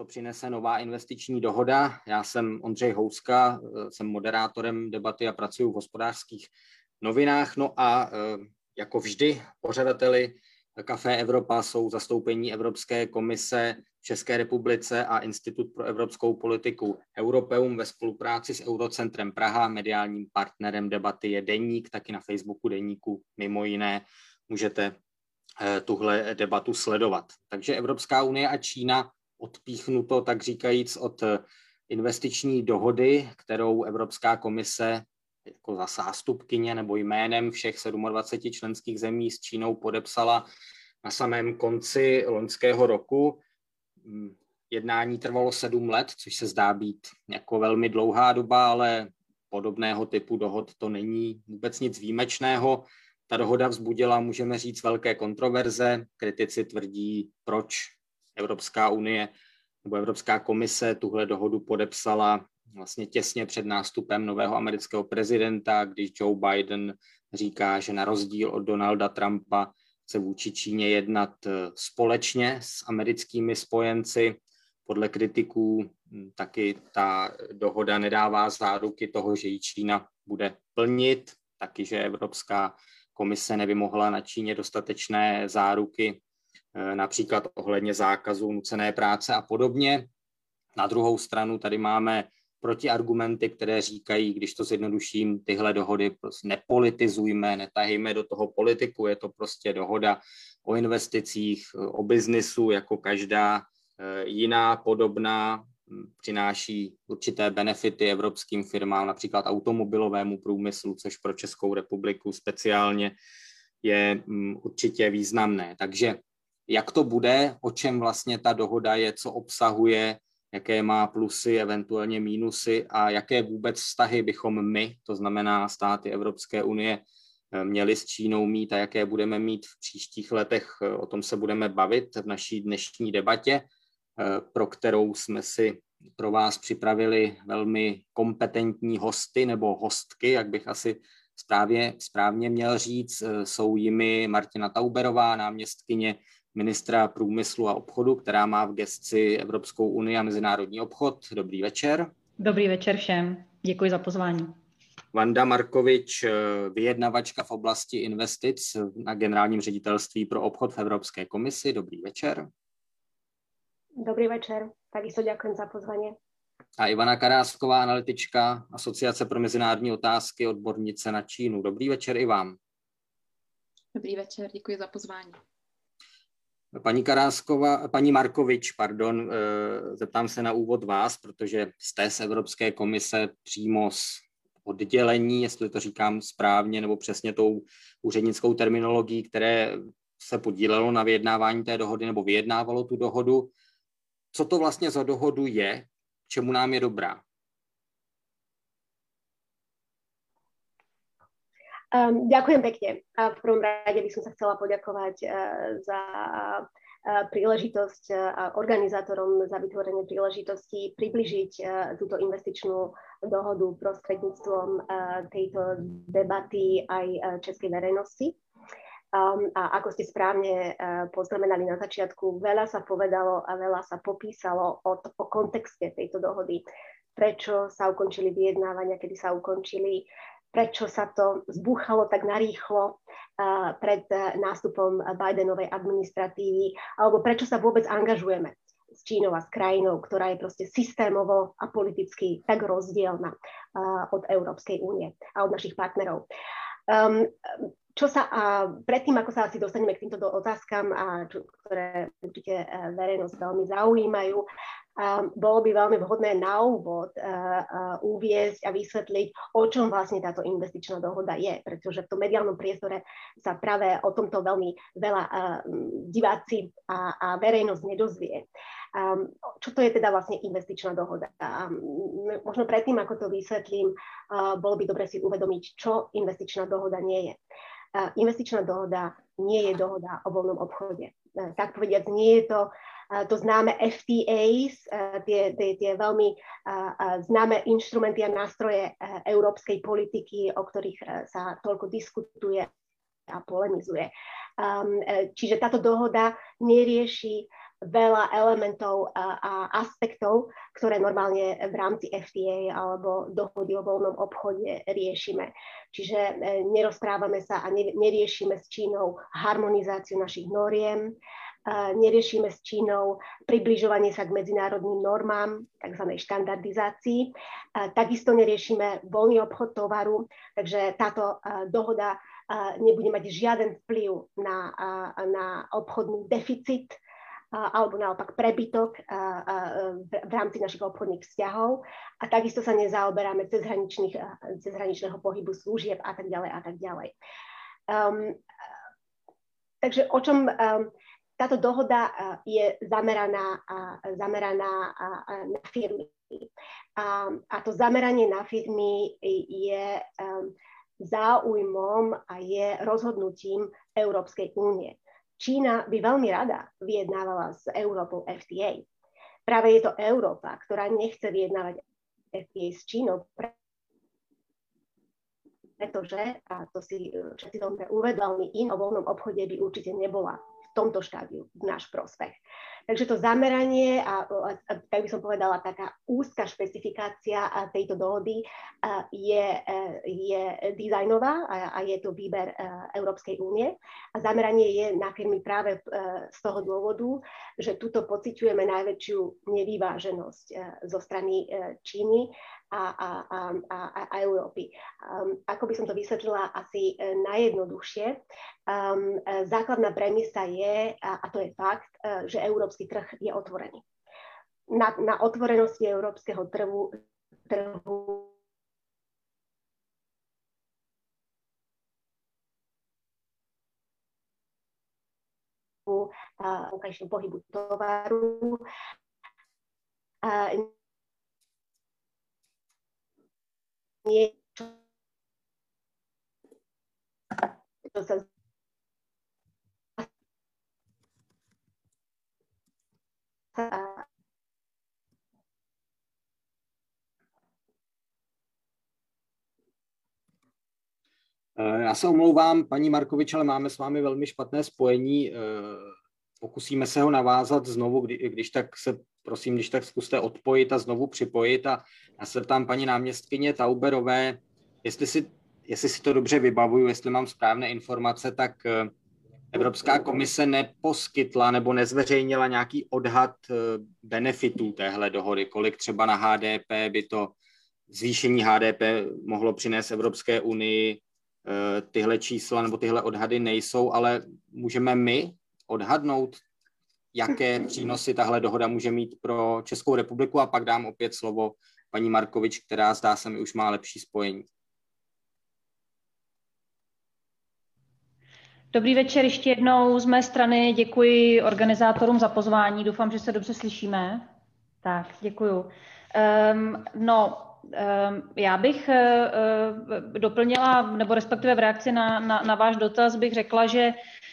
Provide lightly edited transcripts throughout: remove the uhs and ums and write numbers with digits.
přinese nová investiční dohoda. Já jsem Ondřej Houska, jsem moderátorem debaty a pracuji v Hospodářských novinách. No a jako vždy pořadateli Café Evropa jsou zastoupení Evropské komise v České republice a Institut pro evropskou politiku Europeum ve spolupráci s Eurocentrem Praha. Mediálním partnerem debaty je Deník, taky na Facebooku Deníku mimo jiné můžete tuhle debatu sledovat. Takže Evropská unie a Čína odpíchnuto, tak říkajíc, od investiční dohody, kterou Evropská komise jako za zástupkyně nebo jménem všech 27 členských zemí s Čínou podepsala na samém konci loňského roku. Jednání trvalo 7 let, což se zdá být jako velmi dlouhá doba, ale podobného typu dohod to není vůbec nic výjimečného. Ta dohoda vzbudila, můžeme říct, velké kontroverze. Kritici tvrdí, proč Evropská unie nebo Evropská komise tuhle dohodu podepsala vlastně těsně před nástupem nového amerického prezidenta, když Joe Biden říká, že na rozdíl od Donalda Trumpa chce vůči Číně jednat společně s americkými spojenci. Podle kritiků taky ta dohoda nedává záruky toho, že ji Čína bude plnit, taky, že Evropská komise nevymohla na Číně dostatečné záruky, například ohledně zákazu nucené práce a podobně. Na druhou stranu tady máme protiargumenty, které říkají, když to zjednoduším, tyhle dohody prostě nepolitizujme, netahejme do toho politiku, je to prostě dohoda o investicích, o biznisu, jako každá jiná podobná, přináší určité benefity evropským firmám, například automobilovému průmyslu, což pro Českou republiku speciálně je určitě významné. Takže jak to bude, o čem vlastně ta dohoda je, co obsahuje, jaké má plusy, eventuálně mínusy a jaké vůbec vztahy bychom my, to znamená státy Evropské unie, měli s Čínou mít a jaké budeme mít v příštích letech, o tom se budeme bavit v naší dnešní debatě, pro kterou jsme si pro vás připravili velmi kompetentní hosty nebo hostky, jak bych asi správně měl říct. Jsou jimi Martina Tauberová, náměstkyně ministra průmyslu a obchodu, která má v gesci Evropskou unii a mezinárodní obchod. Dobrý večer. Dobrý večer všem. Děkuji za pozvání. Vanda Markovič, vyjednavačka v oblasti investic na Generálním ředitelství pro obchod v Evropské komisi. Dobrý večer. Dobrý večer. Takisto ďakujem za pozvanie. A Ivana Karásková, analytička Asociace pro mezinárodní otázky, odbornice na Čínu. Dobrý večer i vám. Dobrý večer, děkuji za pozvání. Paní Markovič, zeptám se na úvod vás, protože jste z Evropské komise přímo z oddělení, jestli to říkám správně, nebo přesně tou úřednickou terminologií, které se podílelo na vyjednávání té dohody, nebo vyjednávalo tu dohodu. Co to vlastně za dohodu je, k čemu nám je dobrá? Ďakujem pekne. A v prvom rade by som sa chcela poďakovať za príležitosť a organizátorom za vytvorenie príležitosti približiť túto investičnú dohodu prostredníctvom tejto debaty aj českej verejnosti. A ako ste správne poznamenali na začiatku, veľa sa povedalo a veľa sa popísalo o kontexte tejto dohody. Prečo sa ukončili vyjednávania, kedy sa ukončili, prečo sa to zbúchalo tak narýchlo pred nástupom Bidenovej administratívy, alebo prečo sa vôbec angažujeme s Čínou a s krajinou, ktorá je proste systémovo a politicky tak rozdielna od Európskej únie a od našich partnerov. Predtým, ako sa asi dostaneme k týmto otázkam, ktoré určite verejnosť veľmi zaujímajú, bolo by veľmi vhodné na úvod uviesť a vysvetliť, o čom vlastne táto investičná dohoda je, pretože v tom mediálnom priestore sa práve o tomto veľmi veľa diváci a verejnosť nedozvie. Čo to je teda vlastne investičná dohoda? Možno predtým, ako to vysvetlím, bolo by dobre si uvedomiť, čo investičná dohoda nie je. Investičná dohoda nie je dohoda o voľnom obchode. Tak povediac, nie je to známe FTAs, tie veľmi známe inštrumenty a nástroje európskej politiky, o ktorých sa toľko diskutuje a polemizuje. Čiže táto dohoda nerieši veľa elementov a aspektov, ktoré normálne v rámci FTA alebo dohody o voľnom obchode riešime. Čiže nerozprávame sa a neriešime s Čínou harmonizáciu našich noriem, neriešime s Čínou približovanie sa k medzinárodným normám, tzv. Štandardizácii. Takisto neriešime voľný obchod tovaru, takže táto dohoda nebude mať žiaden vplyv na obchodný deficit alebo naopak prebytok v rámci našich obchodných vzťahov. A takisto sa nezaoberáme cezhraničného pohybu služieb a tak ďalej a tak ďalej. Takže o čom táto dohoda je zameraná na firmy. A to zameranie na firmy je záujmom a je rozhodnutím Európskej únie. Čína by veľmi rada vyjednávala s Európou FTA. Práve je to Európa, ktorá nechce vyjednávať FTA s Čínou, pretože, a to si všetci dobre uvedomili, o voľnom obchode by určite nebola v tomto štádiu v náš prospech. Takže to zameranie a tak by som povedala, taká úzka špecifikácia tejto dohody je dizajnová a je to výber Európskej únie. A zameranie je na firmy práve z toho dôvodu, že tuto pociťujeme najväčšiu nevyváženosť zo strany Číny a Európy. Ako by som to vysvetlila asi najjednoduchšie, základná premisa je, a to je fakt, že európsky trh je otvorený. Na otvorenosti európskeho trhu vonkajšieho pohybu tovaru niečo, čo sa Já se omlouvám, paní Markovič, ale máme s vámi velmi špatné spojení. Pokusíme se ho navázat znovu, když tak se, prosím, když tak zkuste odpojit a znovu připojit. A já se ptám paní náměstkyně Tauberové, jestli si to dobře vybavuju, jestli mám správné informace, tak Evropská komise neposkytla nebo nezveřejnila nějaký odhad benefitů téhle dohody, kolik třeba na HDP by to zvýšení HDP mohlo přinést Evropské unii. Tyhle čísla nebo tyhle odhady nejsou, ale můžeme my odhadnout, jaké přínosy tahle dohoda může mít pro Českou republiku, a pak dám opět slovo paní Markovič, která zdá se mi už má lepší spojení. Dobrý večer ještě jednou z mé strany. Děkuji organizátorům za pozvání. Doufám, že se dobře slyšíme. Tak, děkuju. Já bych doplnila, nebo respektive v reakci na váš dotaz bych řekla, že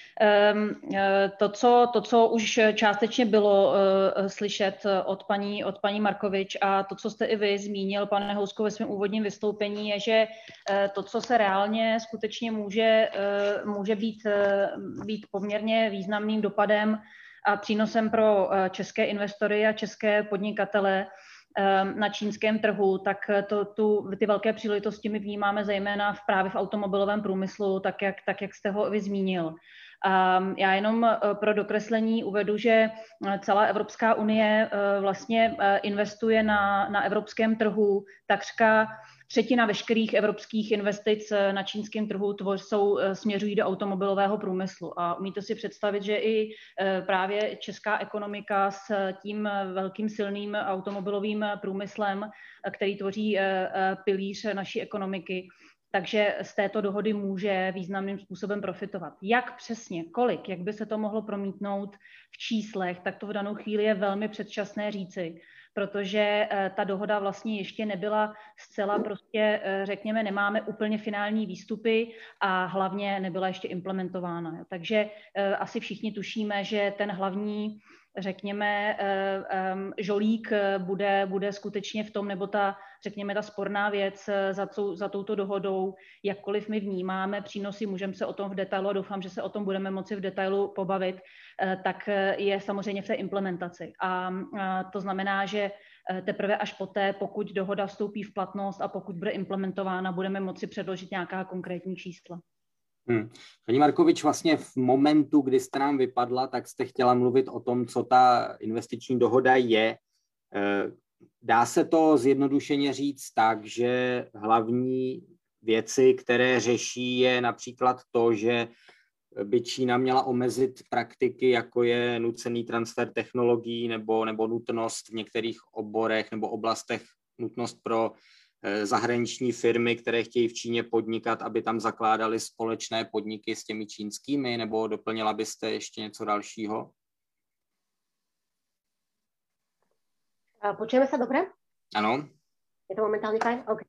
to, co už částečně bylo slyšet od paní Markovič a to, co jste i vy zmínil, pane Housko, ve svém úvodním vystoupení, je, že to, co se reálně skutečně může být poměrně významným dopadem a přínosem pro české investory a české podnikatele na čínském trhu, tak ty velké příležitosti my vnímáme zejména právě v automobilovém průmyslu, tak jak jste ho vy zmínil. Já jenom pro dokreslení uvedu, že celá Evropská unie vlastně investuje na evropském trhu takřka třetina veškerých evropských investic na čínském trhu směřují do automobilového průmyslu. A umíte si představit, že i právě česká ekonomika s tím velkým silným automobilovým průmyslem, který tvoří pilíř naší ekonomiky, takže z této dohody může významným způsobem profitovat. Jak přesně, kolik, jak by se to mohlo promítnout v číslech, tak to v danou chvíli je velmi předčasné říci, protože ta dohoda vlastně ještě nebyla zcela prostě, řekněme, nemáme úplně finální výstupy a hlavně nebyla ještě implementována. Takže asi všichni tušíme, že ten hlavní, řekněme, žolík bude skutečně v tom, nebo ta, řekněme, ta sporná věc za touto dohodou, jakkoliv my vnímáme přínosy, můžeme se o tom v detailu, a doufám, že se o tom budeme moci v detailu pobavit, tak je samozřejmě v té implementaci. A to znamená, že teprve až poté, pokud dohoda vstoupí v platnost a pokud bude implementována, budeme moci předložit nějaká konkrétní čísla. Paní Markovič, vlastně v momentu, kdy jste nám vypadla, tak jste chtěla mluvit o tom, co ta investiční dohoda je. Dá se to zjednodušeně říct tak, že hlavní věci, které řeší, je například to, že by Čína měla omezit praktiky, jako je nucený transfer technologií nebo nutnost v některých oborech nebo oblastech, nutnost pro zahraniční firmy, které chtějí v Číně podnikat, aby tam zakládali společné podniky s těmi čínskými, nebo doplnila byste ještě něco dalšího? Počujeme sa dobre? Áno. Je to momentálne fajn? OK.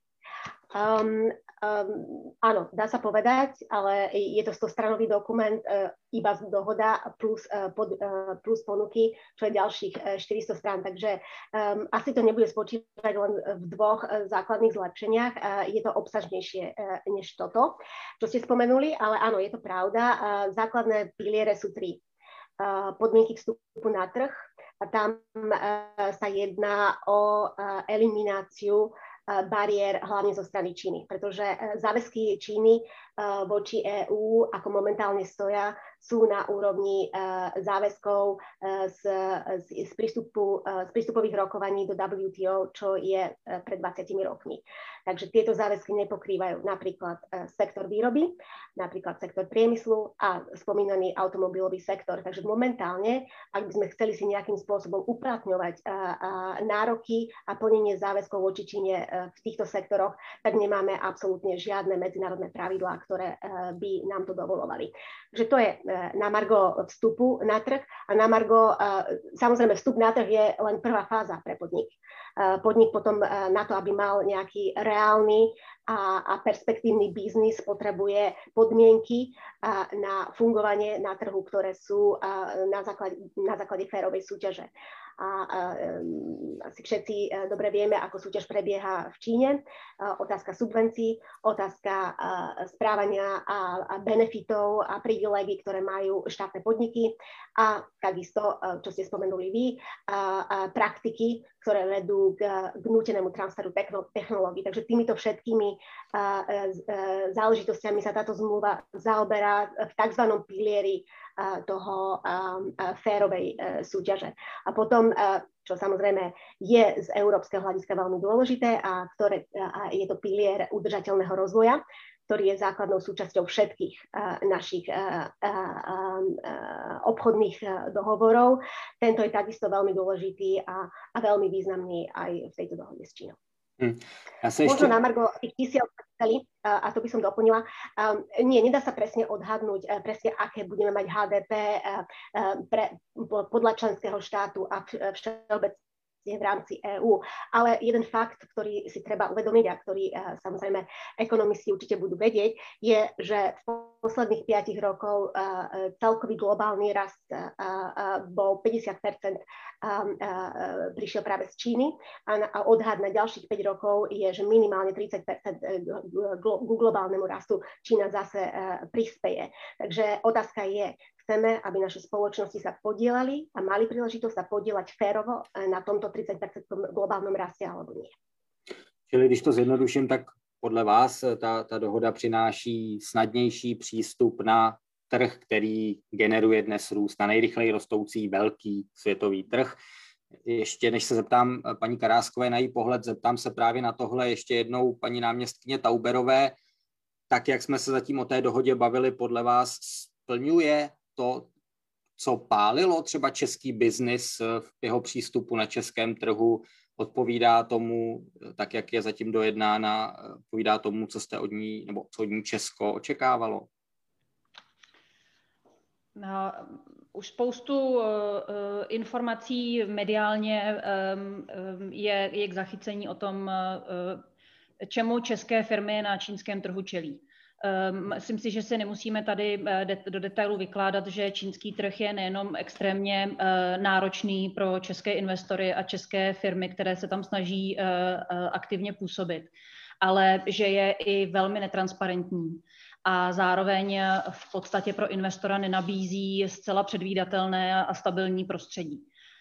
Áno, dá sa povedať, ale je to 100-stranový dokument, iba dohoda plus ponuky, čo je ďalších 400 strán. Takže asi to nebude spočívať len v dvoch základných zlepšeniach. Je to obsažnejšie než toto, čo ste spomenuli, ale áno, je to pravda. Základné piliere sú 3. Podmienky vstupu na trh. A tam sa jedná o elimináciu bariér hlavne zo strany Číny, pretože záväzky Číny voči EÚ, ako momentálne stoja, sú na úrovni záväzkov z prístupových rokovaní do WTO, čo je pred 20 rokmi. Takže tieto záväzky nepokrývajú napríklad sektor výroby, napríklad sektor priemyslu a spomínaný automobilový sektor. Takže momentálne, ak by sme chceli si nejakým spôsobom uplatňovať nároky a plnenie záväzkov voči Číne v týchto sektoroch, tak nemáme absolútne žiadne medzinárodné pravidlá, ktoré by nám to dovolovali. Takže to je na margo vstupu na trh a na margo, samozrejme vstup na trh je len prvá fáza pre podnik. Podnik potom na to, aby mal nejaký reálny a perspektívny biznis, potrebuje podmienky na fungovanie na trhu, ktoré sú na základe férovej súťaže. Asi všetci dobre vieme, ako súťaž prebieha v Číne. Otázka subvencií, otázka správania a benefitov a privilégií, ktoré majú štátne podniky a takisto, čo ste spomenuli vy, praktiky, ktoré vedú k nútenému transferu technológií. Takže týmito všetkými záležitostiami sa táto zmluva zaoberá v tzv. Pilieri toho férovej súťaže. A potom, čo samozrejme je z európskeho hľadiska veľmi dôležité a je to pilier udržateľného rozvoja, ktorý je základnou súčasťou všetkých našich obchodných dohovorov. Tento je takisto veľmi dôležitý a veľmi významný aj v tejto dohode s Čínou. Možno na margo tých čísiel, a to by som doplnila, nedá sa presne odhadnúť, presne aké budeme mať HDP podľa členského štátu a všeobecne v rámci EÚ. Ale jeden fakt, ktorý si treba uvedomiť a ktorý samozrejme ekonomisti určite budú vedieť, je, že v posledných 5 rokov celkový globálny rast bol 50%, prišiel práve z Číny a odhad na ďalších 5 rokov je, že minimálne 30% k globálnemu rastu Čína zase prispeje. Takže otázka je, chceme, aby naše spoločnosti sa podielali a mali príležitosť sa podielať férovo na tomto 30% globálnom raste, alebo nie. Čili když to zjednoduším, tak podle vás ta dohoda přináší snadnější přístup na trh, který generuje dnes růst, na nejrychleji rostoucí velký světový trh. Ještě než se zeptám paní Karáskové na její pohled, zeptám se právě na tohle ještě jednou paní náměstkyně Tauberové. Tak, jak jsme se zatím o té dohodě bavili, podle vás splňuje to, co pálilo třeba český biznis v jeho přístupu na českém trhu, odpovídá tomu, tak jak je zatím dojednána, odpovídá tomu, co jste od ní, nebo co od ní Česko očekávalo? Už spoustu informací mediálně je k zachycení o tom, čemu české firmy na čínském trhu čelí. Myslím si, že si nemusíme tady do detailu vykládat, že čínský trh je nejenom extrémně náročný pro české investory a české firmy, které se tam snaží aktivně působit, ale že je i velmi netransparentní a zároveň v podstatě pro investora nenabízí zcela předvídatelné a stabilní prostředí.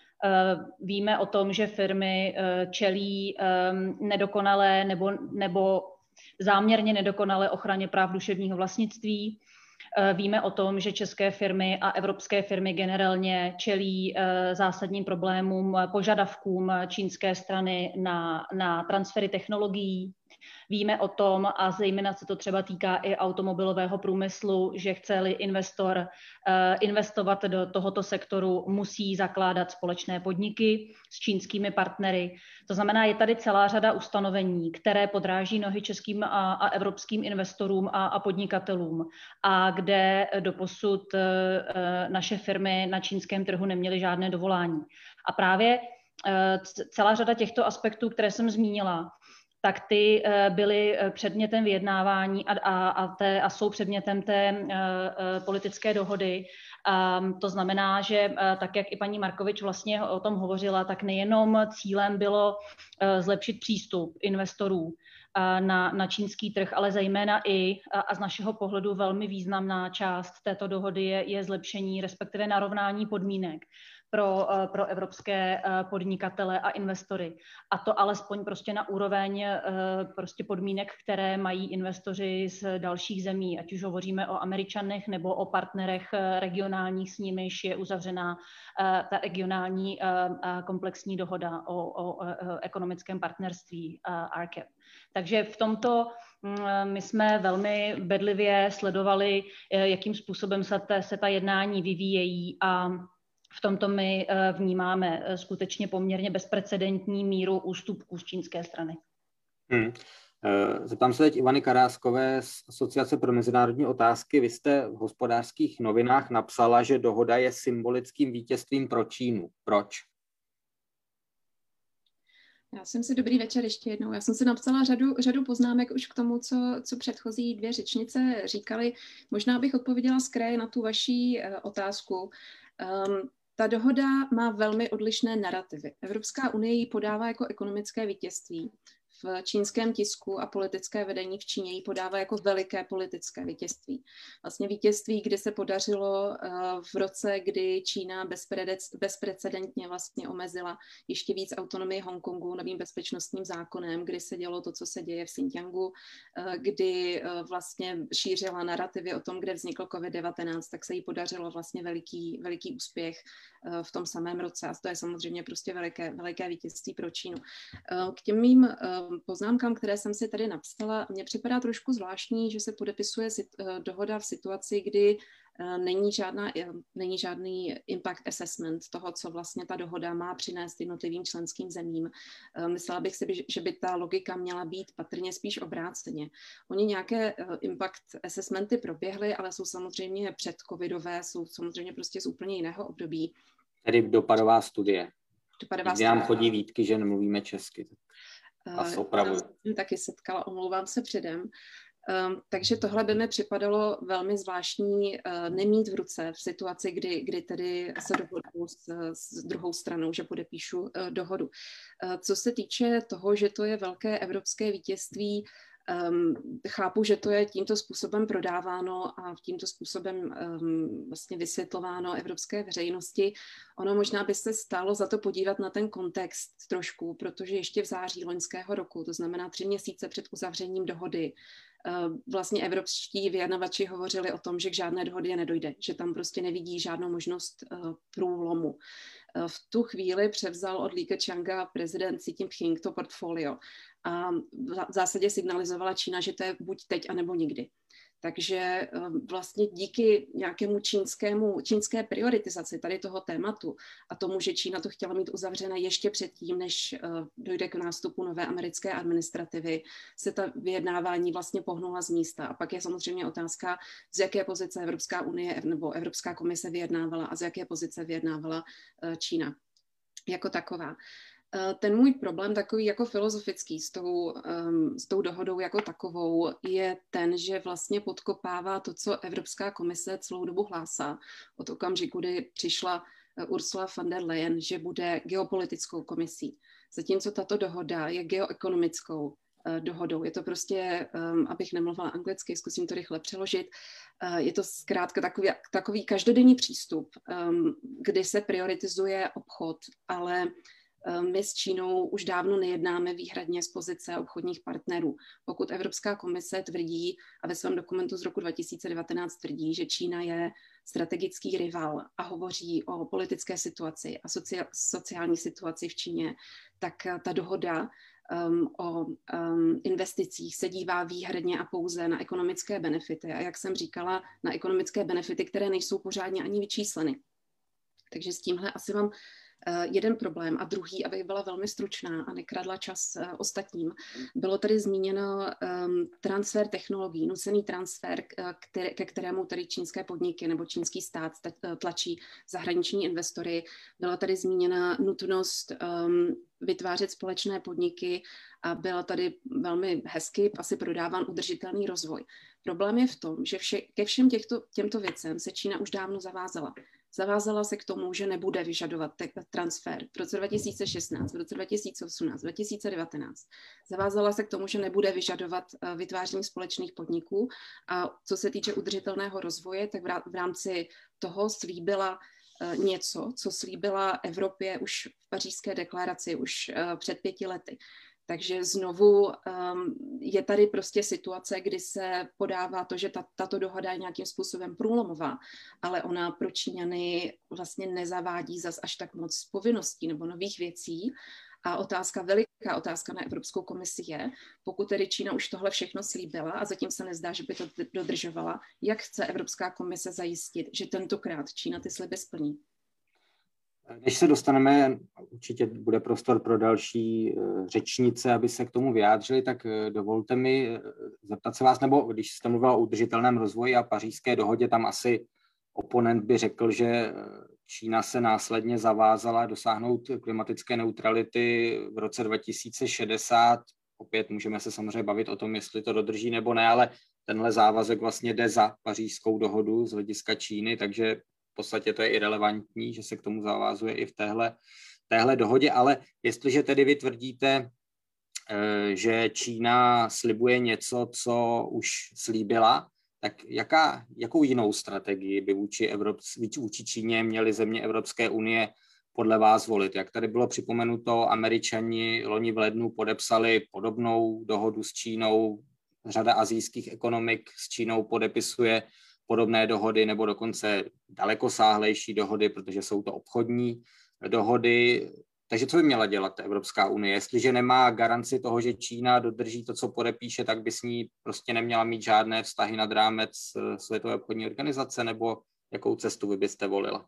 Víme o tom, že firmy čelí nedokonalé nebo záměrně nedokonalé ochraně práv duševního vlastnictví. Víme o tom, že české firmy a evropské firmy generálně čelí zásadním problémům, požadavkům čínské strany na transfery technologií. Víme o tom, a zejména se to třeba týká i automobilového průmyslu, že chce-li investor investovat do tohoto sektoru, musí zakládat společné podniky s čínskými partnery. To znamená, je tady celá řada ustanovení, které podráží nohy českým a evropským investorům a podnikatelům a kde doposud naše firmy na čínském trhu neměly žádné dovolání. A právě celá řada těchto aspektů, které jsem zmínila, tak ty byly předmětem vyjednávání a jsou předmětem té politické dohody. To znamená, že tak, jak i paní Markovič vlastně o tom hovořila, tak nejenom cílem bylo zlepšit přístup investorů na čínský trh, ale zejména i, a z našeho pohledu velmi významná část této dohody je zlepšení, respektive narovnání podmínek pro evropské podnikatele a investory. A to alespoň prostě na úroveň prostě podmínek, které mají investoři z dalších zemí, ať už hovoříme o Američanech nebo o partnerech regionálních, s nimiž je uzavřená ta regionální komplexní dohoda o ekonomickém partnerství RCEP. Takže v tomto my jsme velmi bedlivě sledovali, jakým způsobem se ta jednání vyvíjejí a v tomto my vnímáme skutečně poměrně bezprecedentní míru ústupků z čínské strany. Zeptám se teď Ivany Karáskové z Asociace pro mezinárodní otázky. Vy jste v Hospodářských novinách napsala, že dohoda je symbolickým vítězstvím pro Čínu. Proč? Dobrý večer ještě jednou. Já jsem si napsala řadu poznámek už k tomu, co předchozí dvě řečnice říkali. Možná bych odpověděla z kraje na tu vaši otázku. Ta dohoda má velmi odlišné narrativy. Evropská unie ji podává jako ekonomické vítězství. V čínském tisku a politické vedení v Číně ji podává jako veliké politické vítězství. Vlastně vítězství, kdy se podařilo v roce, kdy Čína bezprecedentně vlastně omezila ještě víc autonomii Hongkongu novým bezpečnostním zákonem, kdy se dělo to, co se děje v Xinjiangu, kdy vlastně šířila narrativy o tom, kde vznikl COVID-19, tak se jí podařilo vlastně veliký úspěch v tom samém roce. A to je samozřejmě prostě veliké vítězství pro Čínu. K těm mým poznámkám, které jsem si tady napsala, mně připadá trošku zvláštní, že se podepisuje dohoda v situaci, kdy není žádný impact assessment toho, co vlastně ta dohoda má přinést jednotlivým členským zemím. Myslela bych si, že by ta logika měla být patrně spíš obráceně. Oni nějaké impact assessmenty proběhly, ale jsou samozřejmě předcovidové, jsou samozřejmě prostě z úplně jiného období. Tedy dopadová studie. Kdy nám chodí výtky, že nemluvíme česky. Já jsem taky setkala, omlouvám se předem. Takže tohle by mi připadalo velmi zvláštní nemít v ruce v situaci, kdy tedy se dohodnu s druhou stranou, že podepíšu dohodu. Co se týče toho, že to je velké evropské vítězství, chápu, že to je tímto způsobem prodáváno a tímto způsobem vlastně vysvětlováno evropské veřejnosti. Ono možná by se stálo za to podívat na ten kontext trošku, protože ještě v září loňského roku, to znamená 3 měsíce před uzavřením dohody, vlastně evropští vyjednavači hovořili o tom, že k žádné dohodě nedojde, že tam prostě nevidí žádnou možnost průlomu. V tu chvíli převzal od Li Keqianga prezident Xi Jinping to portfolio a v zásadě signalizovala Čína, že to je buď teď, anebo nikdy. Takže vlastně díky nějakému čínské prioritizaci tady toho tématu a tomu, že Čína to chtěla mít uzavřené ještě předtím, než dojde k nástupu nové americké administrativy, se ta vyjednávání vlastně pohnula z místa. A pak je samozřejmě otázka, z jaké pozice Evropská unie nebo Evropská komise vyjednávala a z jaké pozice vyjednávala Čína jako taková. Ten můj problém takový jako filozofický s tou dohodou jako takovou je ten, že vlastně podkopává to, co Evropská komise celou dobu hlásá od okamžiku, kdy přišla Ursula von der Leyen, že bude geopolitickou komisí. Zatímco tato dohoda je geoekonomickou dohodou. Je to prostě, abych nemluvila anglicky, zkusím to rychle přeložit, je to zkrátka takový každodenní přístup, kdy se prioritizuje obchod, ale my s Čínou už dávno nejednáme výhradně z pozice obchodních partnerů. Pokud Evropská komise tvrdí a ve svém dokumentu z roku 2019 tvrdí, že Čína je strategický rival a hovoří o politické situaci a sociální situaci v Číně, tak ta dohoda o investicích se dívá výhradně a pouze na ekonomické benefity. A jak jsem říkala, na ekonomické benefity, které nejsou pořádně ani vyčísleny. Takže s tímhle asi mám jeden problém. A druhý, abych byla velmi stručná a nekradla čas ostatním, bylo tady zmíněno transfer technologií, nucený transfer, ke kterému tady čínské podniky nebo čínský stát tlačí zahraniční investory. Byla tady zmíněna nutnost vytvářet společné podniky a byla tady velmi hezky asi prodáván udržitelný rozvoj. Problém je v tom, že ke všem těmto věcem se Čína už dávno zavázala. Zavázala se k tomu, že nebude vyžadovat transfer v roce 2016, v roce 2018, 2019. Zavázala se k tomu, že nebude vyžadovat vytváření společných podniků a co se týče udržitelného rozvoje, tak v rámci toho slíbila něco, co slíbila Evropě už v Pařížské deklaraci už před 5 lety. Takže znovu je tady prostě situace, kdy se podává to, že tato dohoda je nějakým způsobem průlomová, ale ona pro Číňany vlastně nezavádí zas až tak moc povinností nebo nových věcí. A veliká otázka na Evropskou komisi je, pokud tedy Čína už tohle všechno slíbila a zatím se nezdá, že by to dodržovala, jak chce Evropská komise zajistit, že tentokrát Čína ty sliby splní? Než se dostaneme, určitě bude prostor pro další řečnice, aby se k tomu vyjádřili, tak dovolte mi zeptat se vás, nebo když jste mluvila o udržitelném rozvoji a Pařížské dohodě, tam asi oponent by řekl, že Čína se následně zavázala dosáhnout klimatické neutrality v roce 2060. Opět můžeme se samozřejmě bavit o tom, jestli to dodrží nebo ne, ale tenhle závazek vlastně jde za Pařížskou dohodu z hlediska Číny, takže v podstatě to je irelevantní, že se k tomu zavázuje i v téhle dohodě, ale jestliže tedy vy tvrdíte, že Čína slibuje něco, co už slíbila, tak jakou jinou strategii by vůči Číně měly země Evropské unie podle vás volit? Jak tady bylo připomenuto, Američani loni v lednu podepsali podobnou dohodu s Čínou, řada asijských ekonomik s Čínou podepisuje podobné dohody nebo dokonce dalekosáhlejší dohody, protože jsou to obchodní dohody. Takže co by měla dělat Evropská unie? Jestliže nemá garanci toho, že Čína dodrží to, co podepíše, tak by s ní prostě neměla mít žádné vztahy nad rámec Světové obchodní organizace, nebo jakou cestu vy byste volila?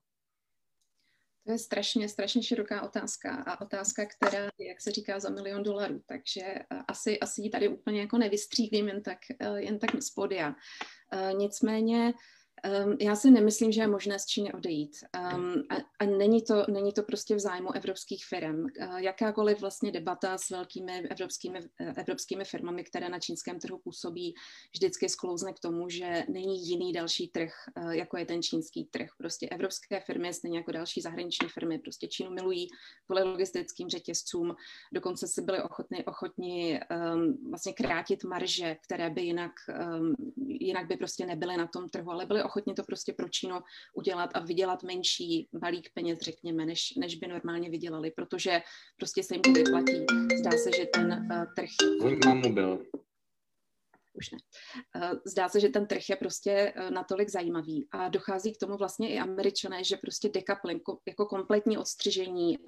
To je strašně široká otázka a otázka, která, jak se říká, za $1 milion. Takže asi ji tady úplně jako nevystřílím jen tak z pódia. Nicméně já si nemyslím, že je možné z Číny odejít. A není to prostě v zájmu evropských firm. Jakákoliv vlastně debata s velkými evropskými firmami, které na čínském trhu působí, vždycky sklouzne k tomu, že není jiný další trh, jako je ten čínský trh. Prostě evropské firmy, stejně jako další zahraniční firmy, prostě Čínu milují kvůli logistickým řetězcům. Dokonce si byli ochotni vlastně krátit marže, které by jinak by prostě nebyly na tom trhu, ale byli ochotni to prostě pro Čínu udělat a vydělat menší balík peněz, řekněme, než by normálně vydělali, protože prostě se jim to vyplatí. Zdá se, že ten trh... Mám mobil. Už ne. Zdá se, že ten trh je prostě natolik zajímavý a dochází k tomu vlastně i Američané, že prostě decoupling, jako kompletní odstřižení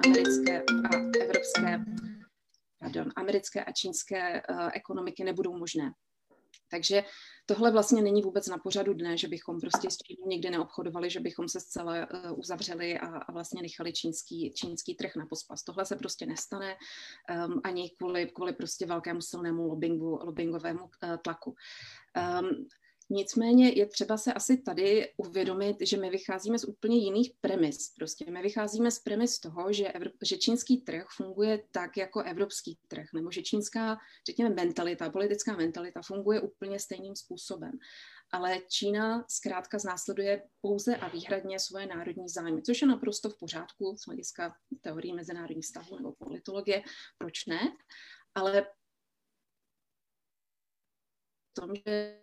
americké a čínské ekonomiky nebudou možné. Takže tohle vlastně není vůbec na pořadu dne, že bychom prostě s Čínou nikdy neobchodovali, že bychom se zcela uzavřeli a vlastně nechali čínský trh na pospas. Tohle se prostě nestane ani kvůli prostě velkému silnému lobbingovému tlaku. Nicméně je třeba se asi tady uvědomit, že my vycházíme z úplně jiných premis. Prostě my vycházíme z premis toho, že čínský trh funguje tak jako evropský trh, nebo že čínská, řekněme, politická mentalita funguje úplně stejným způsobem. Ale Čína zkrátka znásleduje pouze a výhradně svoje národní zájmy, což je naprosto v pořádku z hlediska teorii mezinárodních vztahů nebo politologie. Proč ne? Ale v tom, že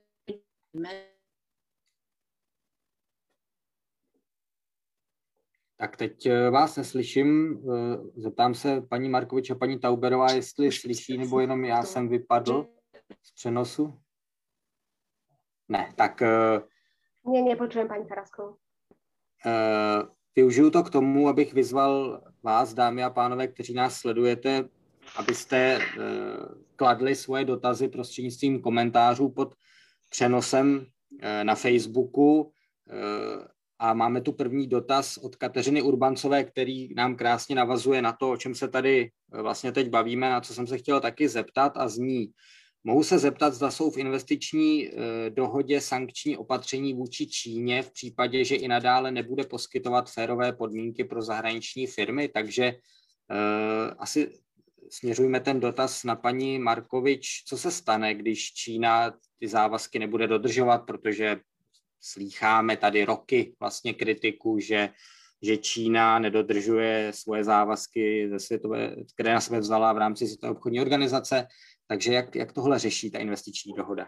Tak teď vás neslyším. Zeptám se paní Markovič a paní Tauberová, jestli slyší, nebo jenom já jsem vypadl z přenosu. Ne, tak... Nepočujem paní Taraskovou. Využiju to k tomu, abych vyzval vás, dámy a pánové, kteří nás sledujete, abyste kladli svoje dotazy prostřednictvím komentářů pod přenosem na Facebooku. A máme tu první dotaz od Kateřiny Urbancové, který nám krásně navazuje na to, o čem se tady vlastně teď bavíme, na co jsem se chtěl taky zeptat, a zní: mohu se zeptat, zda jsou v investiční dohodě sankční opatření vůči Číně v případě, že i nadále nebude poskytovat férové podmínky pro zahraniční firmy? Takže asi směřujme ten dotaz na paní Markovič. Co se stane, když Čína ty závazky nebude dodržovat, protože slýcháme tady roky vlastně kritiku, že Čína nedodržuje svoje závazky, které na sebe vzala v rámci Světové obchodní organizace. Takže jak tohle řeší ta investiční dohoda?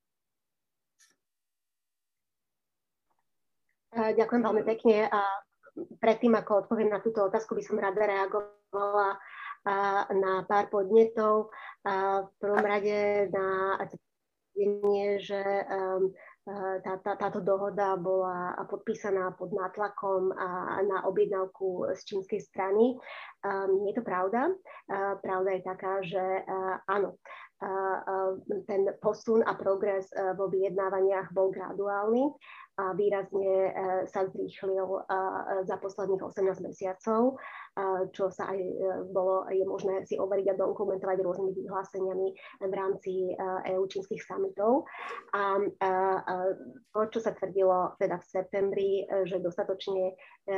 Ďakujem veľmi pekne. A predtým, ako odpoviem na túto otázku, by som rada reagovala na pár podnetov. V prvom rade na tvrdenie, že táto dohoda bola podpísaná pod nátlakom na objednávku z čínskej strany. Nie je to pravda. Pravda je taká, že áno, ten posun a progres vo vyjednávaniach bol graduálny a výrazne sa zrýchlil za posledných 18 mesiacov, čo sa aj je možné si overiť a dokumentovať rôznymi vyhláseniami v rámci EU-čínskych summitov. A to, čo sa tvrdilo teda v septembri, že dostatočne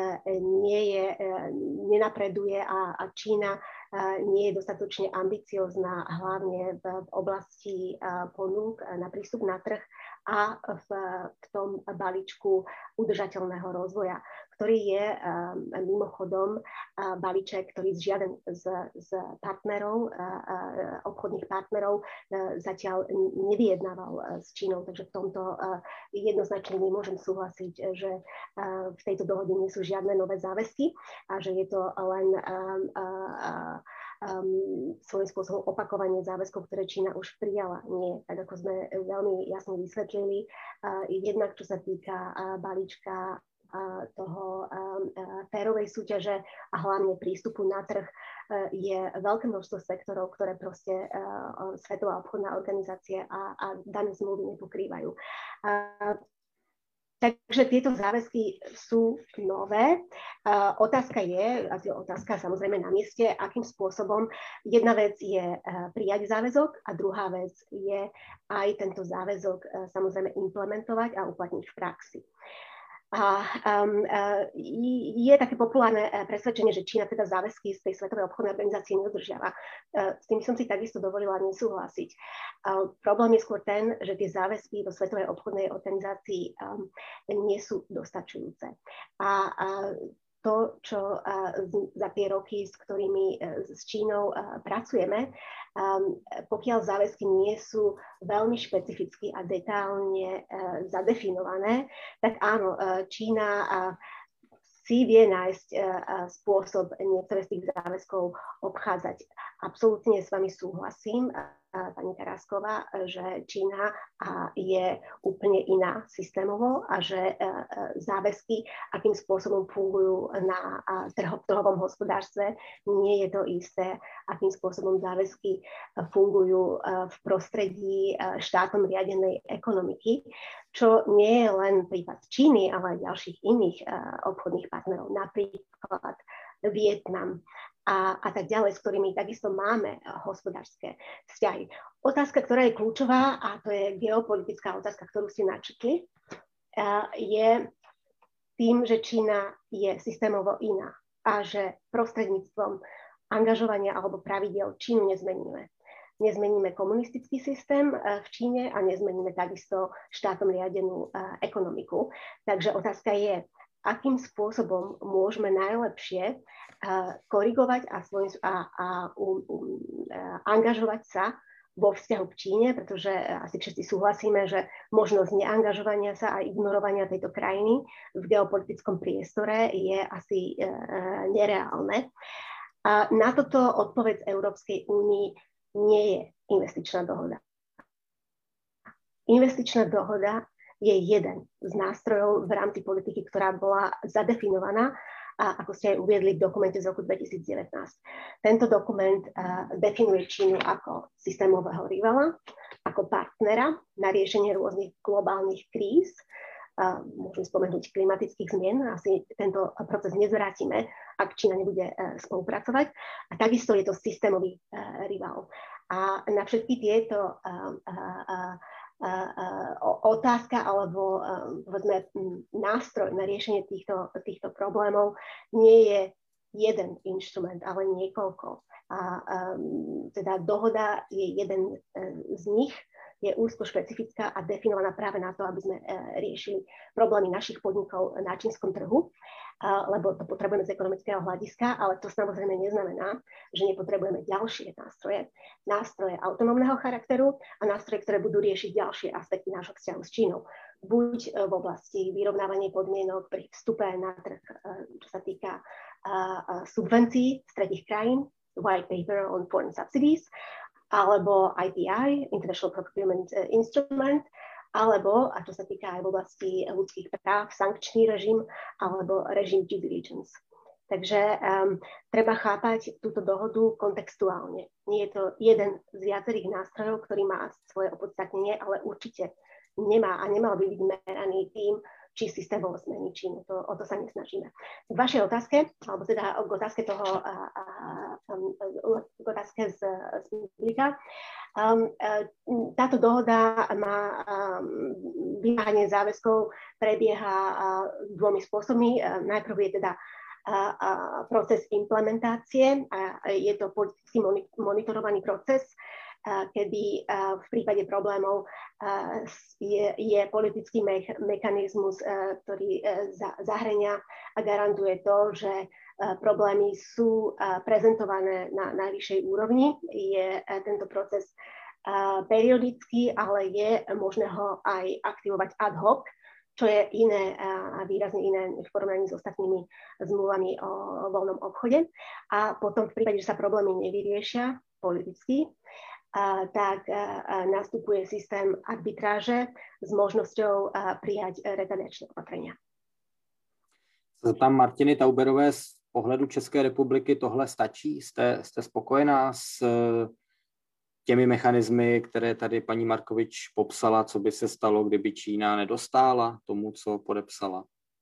nenapreduje a Čína nie je dostatočne ambiciozná, hlavne v oblasti ponúk na prístup na trh a v tom balíčku udržateľného rozvoja, ktorý je mimochodom balíček, ktorý žiaden z partnerov, obchodných partnerov zatiaľ nevyjednával s Čínou. Takže v tomto jednoznačne nemôžem súhlasiť, že v tejto dohode nie sú žiadne nové záväzky a že je to len svojím spôsobom opakovanie záväzkov, ktoré Čína už prijala. Nie, tak ako sme veľmi jasne vysvetlili, jednak čo sa týka balíčka toho férovej súťaže a hlavne prístupu na trh, je veľké množstvo sektorov, ktoré proste Svetová obchodná organizácia a dané zmluvy nepokrývajú. Takže tieto záväzky sú nové. Otázka samozrejme na mieste, akým spôsobom. Jedna vec je prijať záväzok a druhá vec je aj tento záväzok samozrejme implementovať a uplatniť v praxi. Je také populárne presvedčenie, že Čína teda záväzky z tej Svetovej obchodnej organizácie nedodržiava. S tým som si takisto dovolila nesúhlasiť. Problém je skôr ten, že tie záväzky do Svetovej obchodnej organizácii nie sú dostačujúce. A to, čo za tie roky, s ktorými s Čínou pracujeme, pokiaľ záväzky nie sú veľmi špecificky a detailne zadefinované, tak áno, Čína si vie nájsť spôsob niektoré z tých záväzkov obchádzať. Absolútne s vami súhlasím, pani Tarásková, že Čína je úplne iná systémovo a že záväzky, akým spôsobom fungujú na trhovom hospodárstve, nie je to isté, akým spôsobom záväzky fungujú v prostredí štátom riadenej ekonomiky, čo nie je len prípad Číny, ale aj ďalších iných obchodných partnerov, napríklad Vietnam a tak ďalej, s ktorými takisto máme hospodárske vzťahy. Otázka, ktorá je kľúčová, a to je geopolitická otázka, ktorú ste načetli, je tým, že Čína je systémovo iná a že prostredníctvom angažovania alebo pravidiel Čínu nezmeníme. Nezmeníme komunistický systém v Číne a nezmeníme takisto štátom riadenú ekonomiku. Takže otázka je, akým spôsobom môžeme najlepšie korigovať a angažovať sa vo vzťahu k Číne, pretože asi všetci súhlasíme, že možnosť neangažovania sa a ignorovania tejto krajiny v geopolitickom priestore je asi nereálne. A na toto odpoveď Európskej únii nie je investičná dohoda. Investičná dohoda je jeden z nástrojov v rámci politiky, ktorá bola zadefinovaná, a ako ste aj uviedli v dokumente z roku 2019. Tento dokument definuje Čínu ako systémového rivala, ako partnera na riešenie rôznych globálnych kríz, môžem spomenúť klimatických zmien, asi tento proces nezvrátime, ak Čína nebude spolupracovať. A takisto je to systémový rival. A na všetky tieto otázka alebo povedzme, nástroj na riešenie týchto problémov nie je jeden inštrument, ale niekoľko. A teda dohoda je jeden z nich, je úzko špecifická a definovaná práve na to, aby sme riešili problémy našich podnikov na čínskom trhu, lebo to potrebujeme z ekonomického hľadiska, ale to samozrejme neznamená, že nepotrebujeme ďalšie nástroje autonómneho charakteru a nástroje, ktoré budú riešiť ďalšie aspekty nášho vzťahu s Čínou. Buď v oblasti vyrovnávania podmienok pri vstupe na trh, čo sa týka subvencií z tretích krajín, White Paper on Foreign Subsidies, alebo IPI, International Procurement Instrument, alebo, a čo sa týka aj v oblasti ľudských práv, sankčný režim alebo režim due diligence. Takže treba chápať túto dohodu kontextuálne. Nie je to jeden z viacerých nástrojov, ktorý má svoje opodstatnenie, ale určite nemá a nemal by byť meraný tým, či systémovo zmení Čínu. O to sa nesnažíme. K vašej otázke, alebo teda k otázke toho, k otázke z publika. Táto dohoda má vymáhanie záväzkov prebieha dvomi spôsobmi. Najprv je teda proces implementácie. Je to politicky monitorovaný proces, kedy v prípade problémov je politický mechanizmus, ktorý zahrania a garantuje to, že problémy sú prezentované na najvyššej úrovni. Je tento proces periodický, ale je možné ho aj aktivovať ad hoc, čo je iné a výrazne iné v porovnaní s ostatnými zmluvami o voľnom obchode. A potom v prípade, že sa problémy nevyriešia politicky, tak nastupuje systém arbitráže s možnosťou prijať retaliačné opatrenia. Tam Martiny Tauberové z pohledu České republiky tohle stačí? Jste spokojená s těmi mechanismy, které tady paní Markovič popsala, co by se stalo, kdyby Čína nedostála tomu, co podepsala?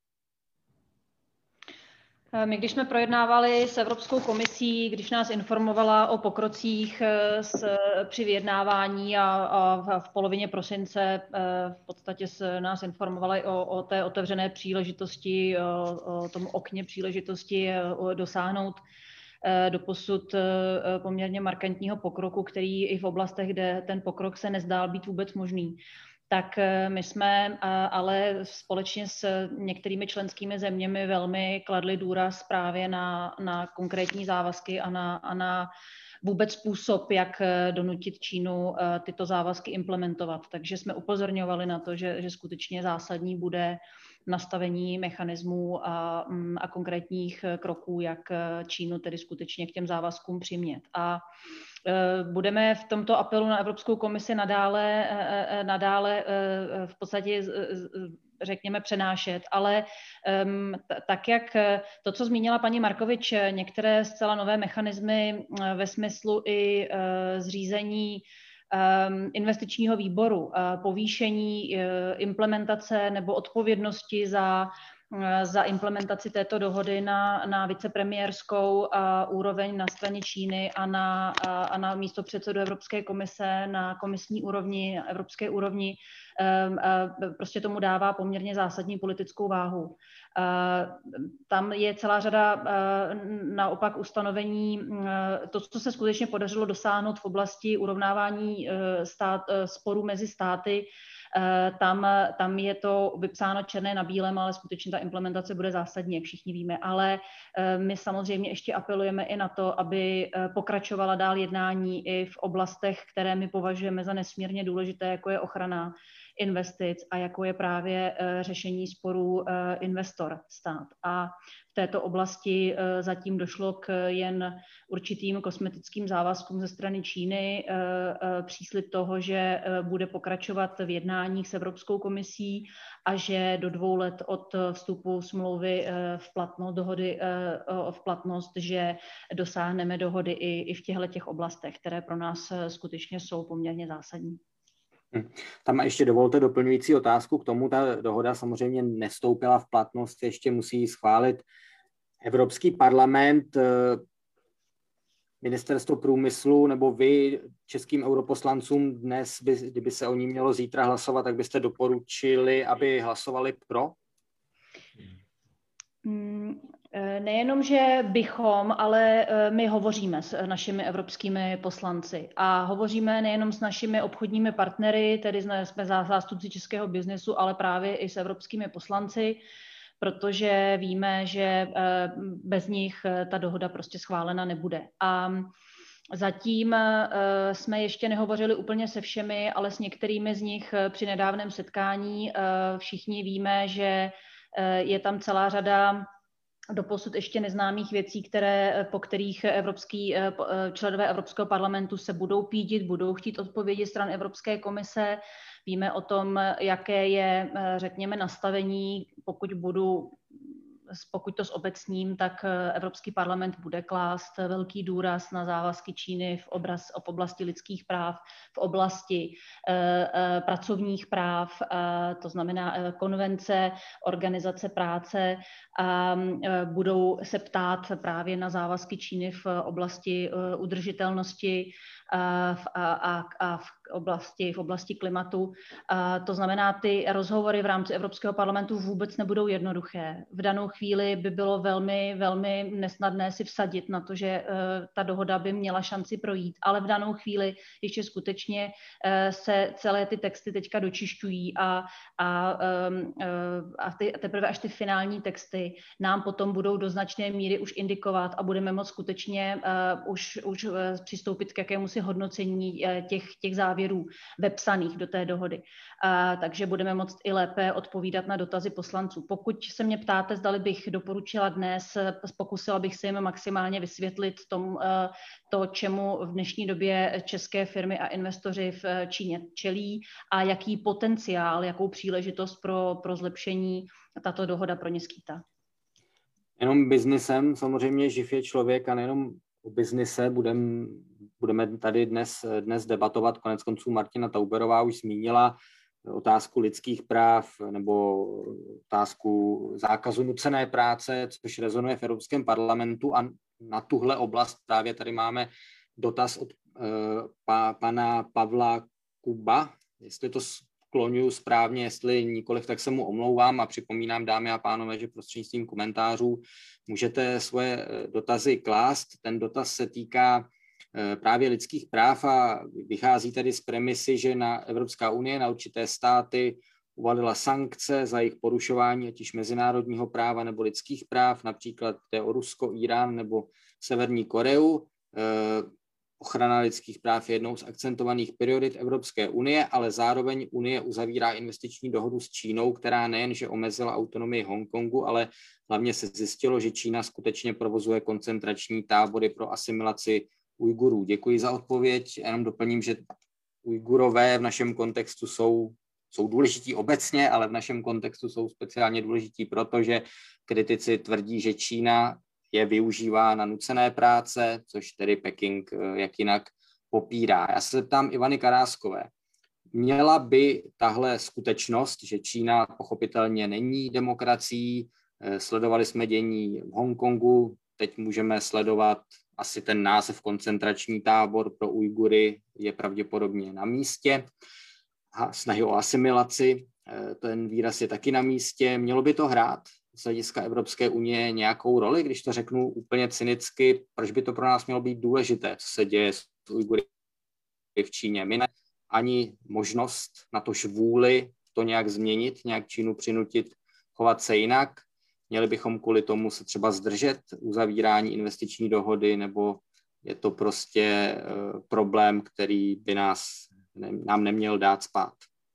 My, když jsme projednávali s Evropskou komisí, když nás informovala o pokrocích při vyjednávání a v polovině prosince v podstatě nás informovali o té otevřené příležitosti, o tom okně příležitosti dosáhnout doposud poměrně markantního pokroku, který i v oblastech, kde ten pokrok se nezdál být vůbec možný. Tak my jsme ale společně s některými členskými zeměmi velmi kladli důraz právě na konkrétní závazky a na vůbec způsob, jak donutit Čínu tyto závazky implementovat. Takže jsme upozorňovali na to, že skutečně zásadní bude nastavení mechanismů a konkrétních kroků, jak Čínu tedy skutečně k těm závazkům přimět. A budeme v tomto apelu na Evropskou komisi nadále v podstatě řekněme přenášet, ale tak jak to, co zmínila paní Markovič, některé zcela nové mechanismy ve smyslu i zřízení investičního výboru, povýšení implementace nebo odpovědnosti za implementaci této dohody na vicepremiérskou úroveň na straně Číny a na místopředsedu Evropské komise na komisní úrovni, na evropské úrovni, prostě tomu dává poměrně zásadní politickou váhu. Tam je celá řada naopak ustanovení, to, co se skutečně podařilo dosáhnout v oblasti urovnávání sporů mezi státy, tam je to vypsáno černé na bílém, ale skutečně ta implementace bude zásadní, jak všichni víme. Ale my samozřejmě ještě apelujeme i na to, aby pokračovala dál jednání i v oblastech, které my považujeme za nesmírně důležité, jako je ochrana investic a jako je právě řešení sporů investor-stát. A v této oblasti zatím došlo k jen určitým kosmetickým závazkům ze strany Číny, příslib toho, že bude pokračovat v jednáních s Evropskou komisí a že do 2 let od vstupu smlouvy v platnost, dohody v platnost, že dosáhneme dohody i v těchto oblastech, které pro nás skutečně jsou poměrně zásadní. Tam ještě dovolte doplňující otázku k tomu. Ta dohoda samozřejmě nevstoupila v platnost, ještě musí schválit Evropský parlament, Ministerstvo průmyslu nebo vy českým europoslancům dnes, kdyby se o ní mělo zítra hlasovat, tak byste doporučili, aby hlasovali pro? Nejenom, že bychom, ale my hovoříme s našimi evropskými poslanci a hovoříme nejenom s našimi obchodními partnery, tedy jsme zástupci českého biznesu, ale právě i s evropskými poslanci, protože víme, že bez nich ta dohoda prostě schválena nebude. A zatím jsme ještě nehovořili úplně se všemi, ale s některými z nich při nedávném setkání všichni víme, že je tam celá řada doposud ještě neznámých věcí, po kterých členové Evropského parlamentu se budou pídit, budou chtít odpovědi stran Evropské komise. Víme o tom, jaké je, řekněme, nastavení, pokud to zobecním, tak Evropský parlament bude klást velký důraz na závazky Číny v oblasti lidských práv, v oblasti pracovních práv, to znamená konvence, organizace práce, a budou se ptát právě na závazky Číny v oblasti udržitelnosti a v oblasti klimatu. To znamená, ty rozhovory v rámci Evropského parlamentu vůbec nebudou jednoduché. V danou chvíli by bylo velmi, velmi nesnadné si vsadit na to, že ta dohoda by měla šanci projít, ale v danou chvíli ještě skutečně se celé ty texty teďka dočišťují a teprve až ty finální texty nám potom budou do značné míry už indikovat a budeme moct skutečně už přistoupit k jakémusi hodnocení těch závěrů vepsaných do té dohody. Takže budeme moct i lépe odpovídat na dotazy poslanců. Pokud se mě ptáte, zdali bych doporučila dnes, pokusila bych se jim maximálně vysvětlit to, čemu v dnešní době české firmy a investoři v Číně čelí a jaký potenciál, jakou příležitost pro zlepšení tato dohoda pro ně skýtá. Jenom biznisem samozřejmě živ je člověk a nejenom o biznise budeme tady dnes debatovat. Koneckonců Martina Tauberová už zmínila otázku lidských práv nebo otázku zákazu nucené práce, což rezonuje v Evropském parlamentu, a na tuhle oblast právě tady máme dotaz od pana Pavla Kuba, jestli to skloňuji správně, jestli nikoliv, tak se mu omlouvám a připomínám, dámy a pánové, že prostřednictvím komentářů můžete svoje dotazy klást. Ten dotaz se týká právě lidských práv a vychází tedy z premisy, že Evropská unie na určité státy uvalila sankce za jejich porušování ať již mezinárodního práva nebo lidských práv, například jde o Rusko, Irán nebo Severní Koreu. ochrana lidských práv je jednou z akcentovaných priorit Evropské unie, ale zároveň Unie uzavírá investiční dohodu s Čínou, která nejenže omezila autonomii Hongkongu, ale hlavně se zjistilo, že Čína skutečně provozuje koncentrační tábory pro asimilaci Ujgurů. Děkuji za odpověď. Jenom doplním, že Ujgurové v našem kontextu jsou důležití obecně, ale v našem kontextu jsou speciálně důležití, protože kritici tvrdí, že Čína je využívá na nucené práce, což tedy Peking jak jinak popírá. Já se zeptám Ivany Karáskové. Měla by tahle skutečnost, že Čína pochopitelně není demokracií, sledovali jsme dění v Hongkongu, teď můžeme sledovat asi ten název koncentrační tábor pro Ujgury je pravděpodobně na místě. Snahy o asimilaci, ten výraz je taky na místě. Mělo by to hrát z hlediska Evropské unie nějakou roli, když to řeknu úplně cynicky, proč by to pro nás mělo být důležité, co se děje s Ujgury v Číně. My ani možnost, natož vůli to nějak změnit, nějak Čínu přinutit chovat se jinak. Měli bychom kvůli tomu se třeba zdržet uzavírání investiční dohody, nebo je to prostě problém, který by nám neměl dát spát.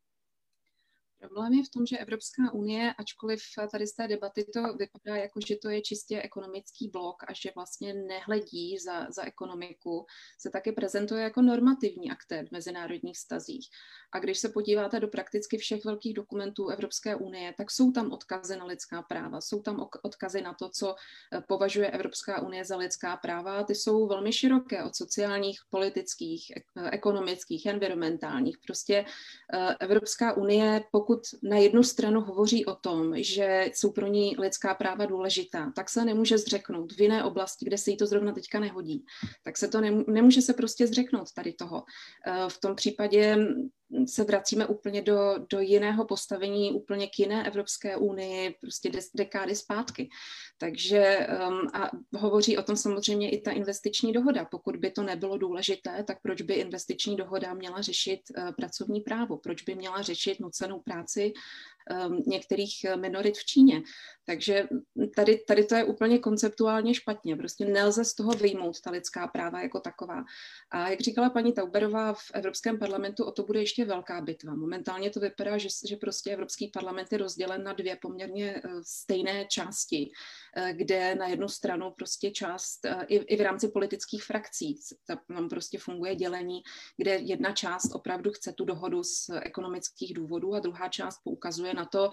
Problém je v tom, že Evropská unie, ačkoliv tady z té debaty to vypadá jako, že to je čistě ekonomický blok a že vlastně nehledí za ekonomiku, se taky prezentuje jako normativní aktér v mezinárodních vztazích. A když se podíváte do prakticky všech velkých dokumentů Evropské unie, tak jsou tam odkazy na lidská práva, jsou tam odkazy na to, co považuje Evropská unie za lidská práva. Ty jsou velmi široké, od sociálních, politických, ekonomických, environmentálních. Prostě Evropská unie, pokud na jednu stranu hovoří o tom, že jsou pro ní lidská práva důležitá, tak se nemůže zřeknout v jiné oblasti, kde se jí to zrovna teďka nehodí. Tak se to nemůže se prostě zřeknout tady toho. V tom případě se vracíme úplně do jiného postavení, úplně k jiné Evropské unii, prostě dekády zpátky. Takže a hovoří o tom samozřejmě i ta investiční dohoda. Pokud by to nebylo důležité, tak proč by investiční dohoda měla řešit pracovní právo? Proč by měla řešit nucenou práci některých minorit v Číně? Takže tady to je úplně konceptuálně špatně. Prostě nelze z toho vyjmout ta lidská práva jako taková. A jak říkala paní Tauberová, v Evropském parlamentu o to bude ještě velká bitva. Momentálně to vypadá, že prostě Evropský parlament je rozdělen na dvě poměrně stejné části, kde na jednu stranu prostě část, i v rámci politických frakcí, tam prostě funguje dělení, kde jedna část opravdu chce tu dohodu z ekonomických důvodů a druhá část poukazuje na to,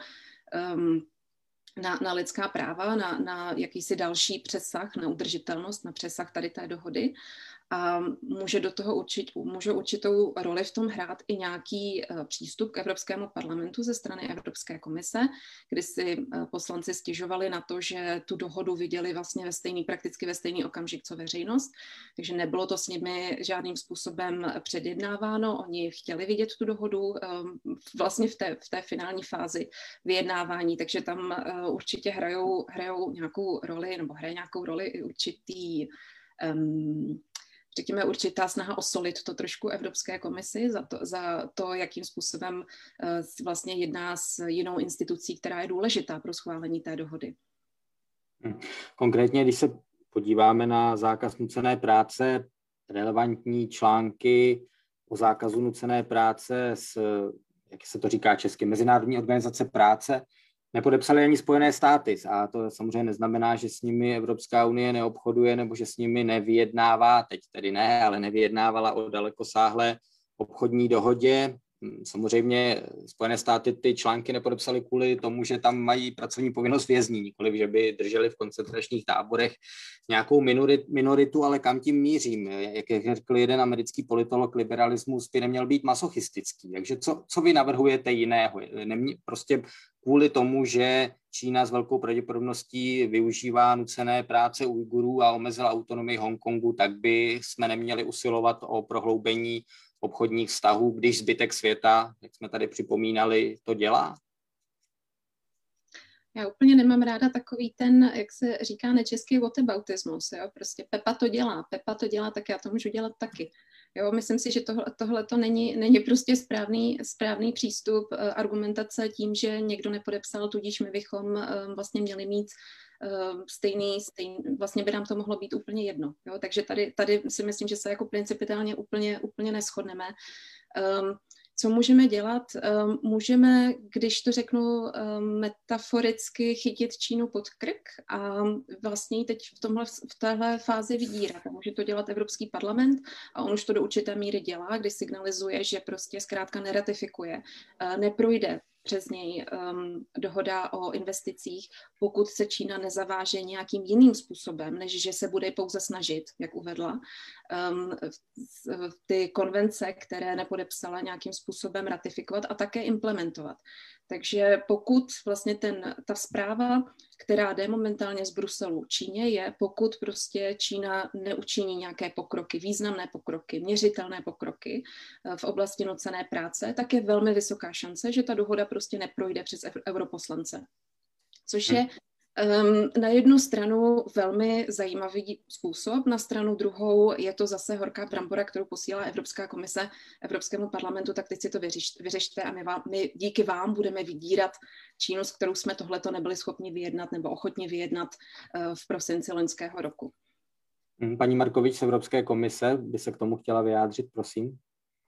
na lidská práva, na jakýsi další přesah, na udržitelnost, na přesah tady té dohody. A může určitou roli v tom hrát i nějaký přístup k Evropskému parlamentu ze strany Evropské komise, kdy si poslanci stěžovali na to, že tu dohodu viděli vlastně prakticky ve stejný okamžik, co veřejnost, takže nebylo to s nimi žádným způsobem předjednáváno, oni chtěli vidět tu dohodu vlastně v té finální fázi vyjednávání, takže tam určitě hrajou nějakou roli, nebo hraje nějakou roli i řekněme, určitá snaha osolit to trošku Evropské komisi za to, jakým způsobem vlastně jedná s jinou institucí, která je důležitá pro schválení té dohody. Konkrétně, když se podíváme na zákaz nucené práce, relevantní články o zákazu nucené práce jak se to říká česky, Mezinárodní organizace práce, nepodepsaly ani Spojené státy a to samozřejmě neznamená, že s nimi Evropská unie neobchoduje nebo že s nimi nevyjednává, teď tedy ne, ale nevyjednávala o dalekosáhlé obchodní dohodě. Samozřejmě Spojené státy ty články nepodepsaly kvůli tomu, že tam mají pracovní povinnost vězní, nikoliv, že by drželi v koncentračních táborech nějakou minoritu, ale kam tím mířím? Jak řekl jeden americký politolog, liberalismus by neměl být masochistický. Takže co vy navrhujete jiného? Prostě kvůli tomu, že Čína s velkou pravděpodobností využívá nucené práce Ujgurů a omezila autonomii Hongkongu, tak by jsme neměli usilovat o prohloubení obchodních vztahů, když zbytek světa, jak jsme tady připomínali, to dělá? Já úplně nemám ráda takový ten, jak se říká nečeský whataboutismus, jo? Prostě Pepa to dělá, tak já to můžu dělat taky. Jo, myslím si, že tohle to není prostě správný přístup argumentace tím, že někdo nepodepsal, tudíž my bychom vlastně měli mít vlastně by nám to mohlo být úplně jedno. Jo? Takže tady si myslím, že se jako principiálně úplně neshodneme. Co můžeme dělat? Můžeme, když to řeknu metaforicky, chytit Čínu pod krk a vlastně teď v téhle fázi vydírat. A může to dělat Evropský parlament a on už to do určité míry dělá, kdy signalizuje, že prostě zkrátka neratifikuje, neprojde přes něj dohoda o investicích, pokud se Čína nezaváže nějakým jiným způsobem, než že se bude pouze snažit, jak uvedla, ty konvence, které nepodepsala, nějakým způsobem ratifikovat a také implementovat. Takže pokud vlastně ta zpráva, která jde momentálně z Bruselu Číně, je, pokud prostě Čína neučiní nějaké pokroky, významné pokroky, měřitelné pokroky v oblasti nucené práce, tak je velmi vysoká šance, že ta dohoda prostě neprojde přes europoslance. Což je na jednu stranu velmi zajímavý způsob, na stranu druhou je to zase horká brambora, kterou posílá Evropská komise Evropskému parlamentu, tak teď si to vyřešte a my díky vám budeme vydírat Čínu, s kterou jsme tohleto nebyli schopni vyjednat nebo ochotni vyjednat v prosinci loňského roku. Paní Markovič z Evropské komise by se k tomu chtěla vyjádřit, prosím.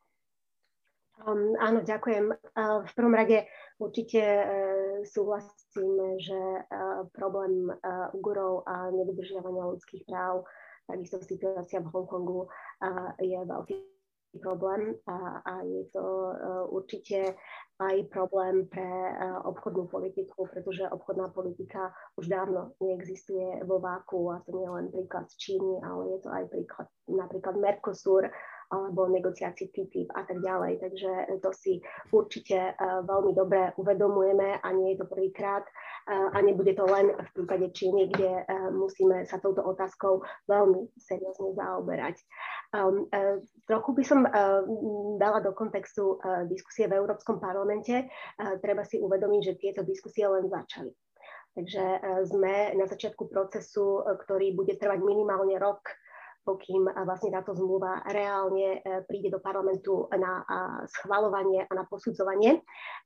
Áno, ďakujem. V prvom rade určite súhlasím, že problém Ujgurov a nedodržiavania ľudských práv, takisto situácia v Hongkongu je veľký problém a je to určite aj problém pre obchodnú politiku, pretože obchodná politika už dávno neexistuje vo váku a to nie je len príklad z Číny, ale je to aj príklad napríklad Mercosur, alebo negociácie TTIP a tak ďalej. Takže to si určite veľmi dobre uvedomujeme a nie je to prvýkrát a nebude to len v prípade Číny, kde musíme sa touto otázkou veľmi seriózne zaoberať. Trochu by som dala do kontextu diskusie v Európskom parlamente. Treba si uvedomiť, že tieto diskusie len začali. Takže sme na začiatku procesu, ktorý bude trvať minimálne rok, pokým vlastne táto zmluva reálne príde do parlamentu na schvaľovanie a na posudzovanie.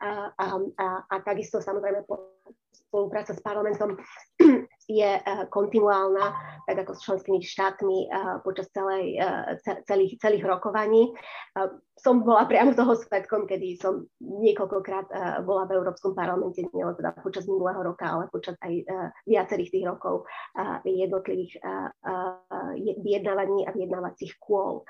A takisto samozrejme spolupráca s parlamentom je kontinuálna, tak ako s členskými štátmi počas celých rokovaní. Som bola priamo toho svedkom, kedy som niekoľkokrát bola v Európskom parlamente, nielen teda počas minulého roka, ale počas aj viacerých tých rokov jednotlivých vyjednávaní a vyjednávacích kôl.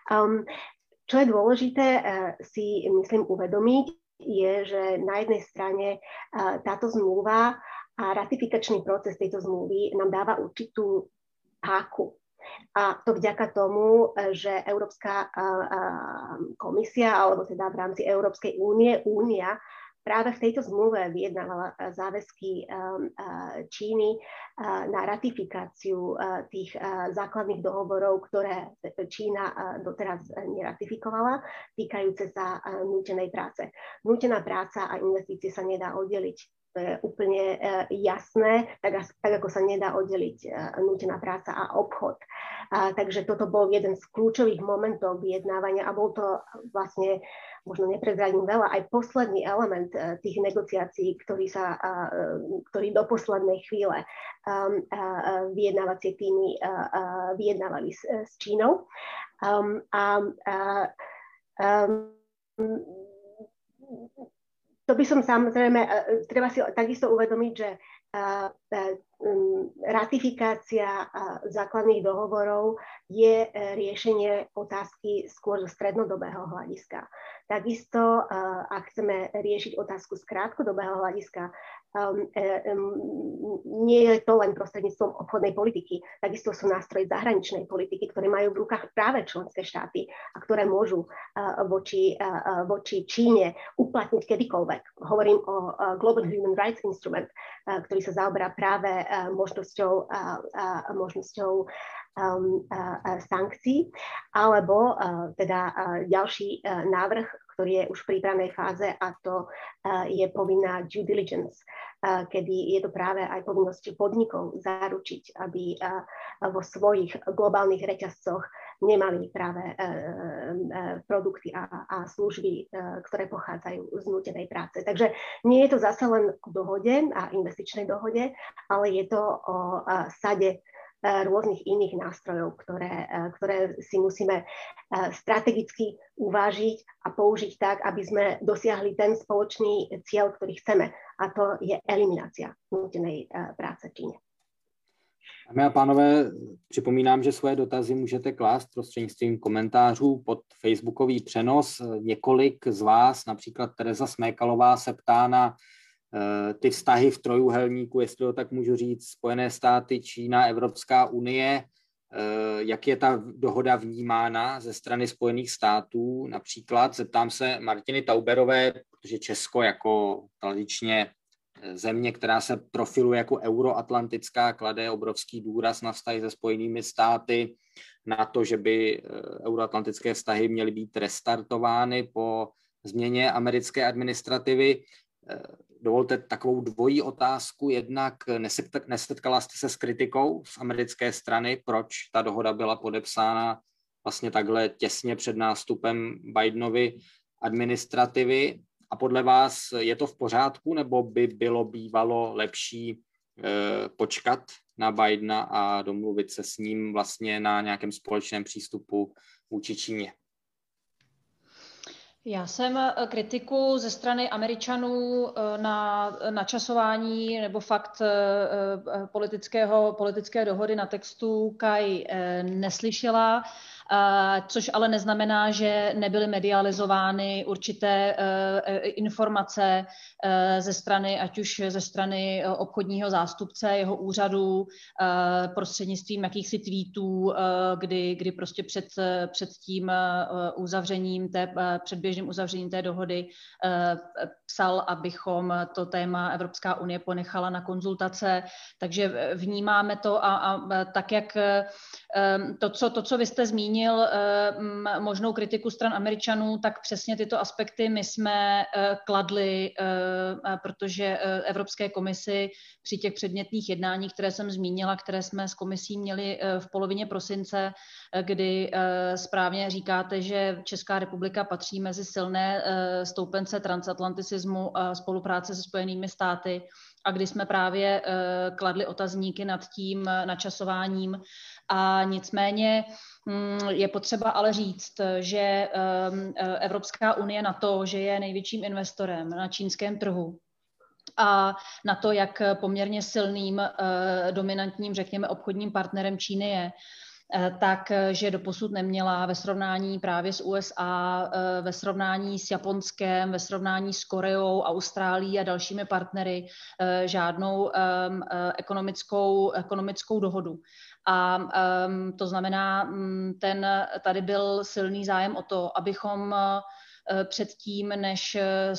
Čo je dôležité si myslím uvedomiť, je, že na jednej strane táto zmluva a ratifikačný proces tejto zmluvy nám dáva určitú páku. A to vďaka tomu, že Európska komisia, alebo teda v rámci Európskej únia práve v tejto zmluve vyjednávala záväzky Číny na ratifikáciu tých základných dohovorov, ktoré Čína doteraz neratifikovala, týkajúce sa nútenej práce. Nútená práca a investície sa nedá oddeliť. To je úplne jasné, tak ako sa nedá oddeliť nútená práca a obchod. Takže toto bol jeden z kľúčových momentov vyjednávania a bol to vlastne, možno neprezradím veľa, aj posledný element tých negociácií, ktorý do poslednej chvíle vyjednávacie týmy vyjednávali s Čínou. To by som samozrejme, treba si takisto uvedomiť, že ratifikácia základných dohovorov je riešenie otázky skôr zo strednodobého hľadiska. Takisto, ak chceme riešiť otázku z krátkodobého hľadiska, nie je to len prostredníctvom obchodnej politiky. Takisto sú nástroje zahraničnej politiky, ktoré majú v rukách práve členské štáty a ktoré môžu voči Číne uplatniť kedykoľvek. Hovorím o Global Human Rights Instrument, ktorý sa zaoberá práve možnosťou sankcií, alebo teda ďalší návrh, ktorý je už v prípravnej fáze, a to je povinná due diligence, kedy je to práve aj povinnosť podnikov zaručiť, aby vo svojich globálnych reťazcoch nemali práve produkty a služby, ktoré pochádzajú z nútenej práce. Takže nie je to zase len o dohode a investičnej dohode, ale je to o sade rôznych iných nástrojov, ktoré si musíme strategicky uvážiť a použiť tak, aby sme dosiahli ten spoločný cieľ, ktorý chceme, a to je eliminácia nútenej práce v Číne. Dámy a pánové, připomínám, že svoje dotazy můžete klást prostřednictvím komentářů pod facebookový přenos. Několik z vás, například Tereza Smékalová, se ptá na ty vztahy v trojúhelníku, jestli to tak můžu říct, Spojené státy, Čína, Evropská unie, jak je ta dohoda vnímána ze strany Spojených států. Například zeptám se Martiny Tauberové, protože Česko jako tradičně země, která se profiluje jako euroatlantická, klade obrovský důraz na vztahy se Spojenými státy, na to, že by euroatlantické vztahy měly být restartovány po změně americké administrativy. Dovolte takovou dvojí otázku. Jednak nesetkala jste se s kritikou z americké strany, proč ta dohoda byla podepsána vlastně takhle těsně před nástupem Bidenovy administrativy? A podle vás je to v pořádku, nebo by bylo bývalo lepší počkat na Bidena a domluvit se s ním vlastně na nějakém společném přístupu vůči Číně? Já jsem kritiku ze strany Američanů na načasování nebo fakt politické dohody na textu KAI neslyšela, což ale neznamená, že nebyly medializovány určité informace ze strany, ať už ze strany obchodního zástupce, jeho úřadu, prostřednictvím jakýchsi tweetů, kdy prostě před tím uzavřením předběžným uzavřením té dohody psal, abychom to téma Evropská unie ponechala na konzultace. Takže vnímáme to a tak, jak to, co vy jste zmínil, možnou kritiku stran Američanů, tak přesně tyto aspekty my jsme kladli, protože Evropské komisi při těch předmětných jednáních, které jsem zmínila, které jsme s komisí měli v polovině prosince, kdy správně říkáte, že Česká republika patří mezi silné stoupence transatlanticismu a spolupráce se Spojenými státy, a kdy jsme právě kladli otazníky nad tím načasováním. A nicméně je potřeba ale říct, že Evropská unie na to, že je největším investorem na čínském trhu a na to, jak poměrně silným, dominantním, řekněme, obchodním partnerem Číny je, takže doposud neměla ve srovnání právě s USA, ve srovnání s Japonskem, ve srovnání s Koreou, Austrálií a dalšími partnery žádnou ekonomickou dohodu. A to znamená, tady byl silný zájem o to, abychom předtím, než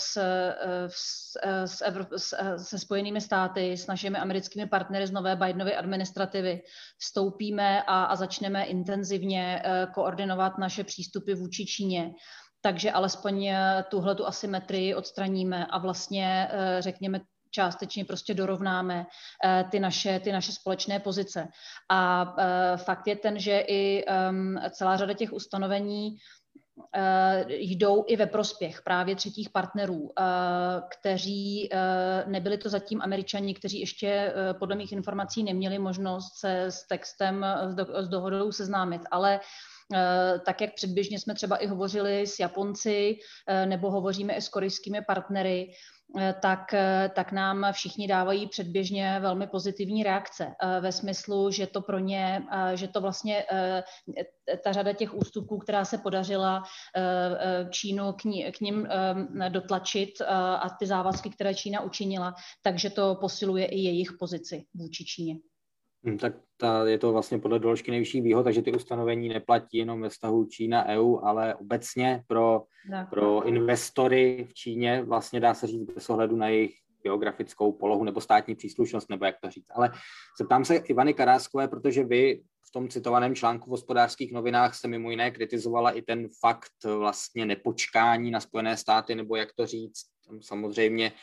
se Spojenými státy, s našimi americkými partnery z nové Bidenovy administrativy vstoupíme a začneme intenzivně koordinovat naše přístupy vůči Číně. Takže alespoň tuhletu asymetrii odstraníme a vlastně, řekněme, částečně prostě dorovnáme ty naše společné pozice. A fakt je ten, že i celá řada těch ustanovení jdou i ve prospěch právě třetích partnerů, kteří nebyli to zatím Američani, kteří ještě podle mých informací neměli možnost se s textem, s dohodou seznámit, ale tak, jak předběžně jsme třeba i hovořili s Japonci nebo hovoříme i s korejskými partnery, tak nám všichni dávají předběžně velmi pozitivní reakce ve smyslu, že to pro ně, že to vlastně ta řada těch ústupků, která se podařila Čínu k nim dotlačit a ty závazky, které Čína učinila, takže to posiluje i jejich pozici vůči Číně. Tak je to vlastně podle doložky nejvyšších výhod, takže ty ustanovení neplatí jenom ve vztahu Čína-EU, ale obecně pro investory v Číně, vlastně dá se říct bez ohledu na jejich geografickou polohu nebo státní příslušnost, nebo jak to říct. Ale zeptám se Ivany Karáskové, protože vy v tom citovaném článku v Hospodářských novinách jste mimo jiné kritizovala i ten fakt vlastně nepočkání na Spojené státy, nebo jak to říct, tam samozřejmě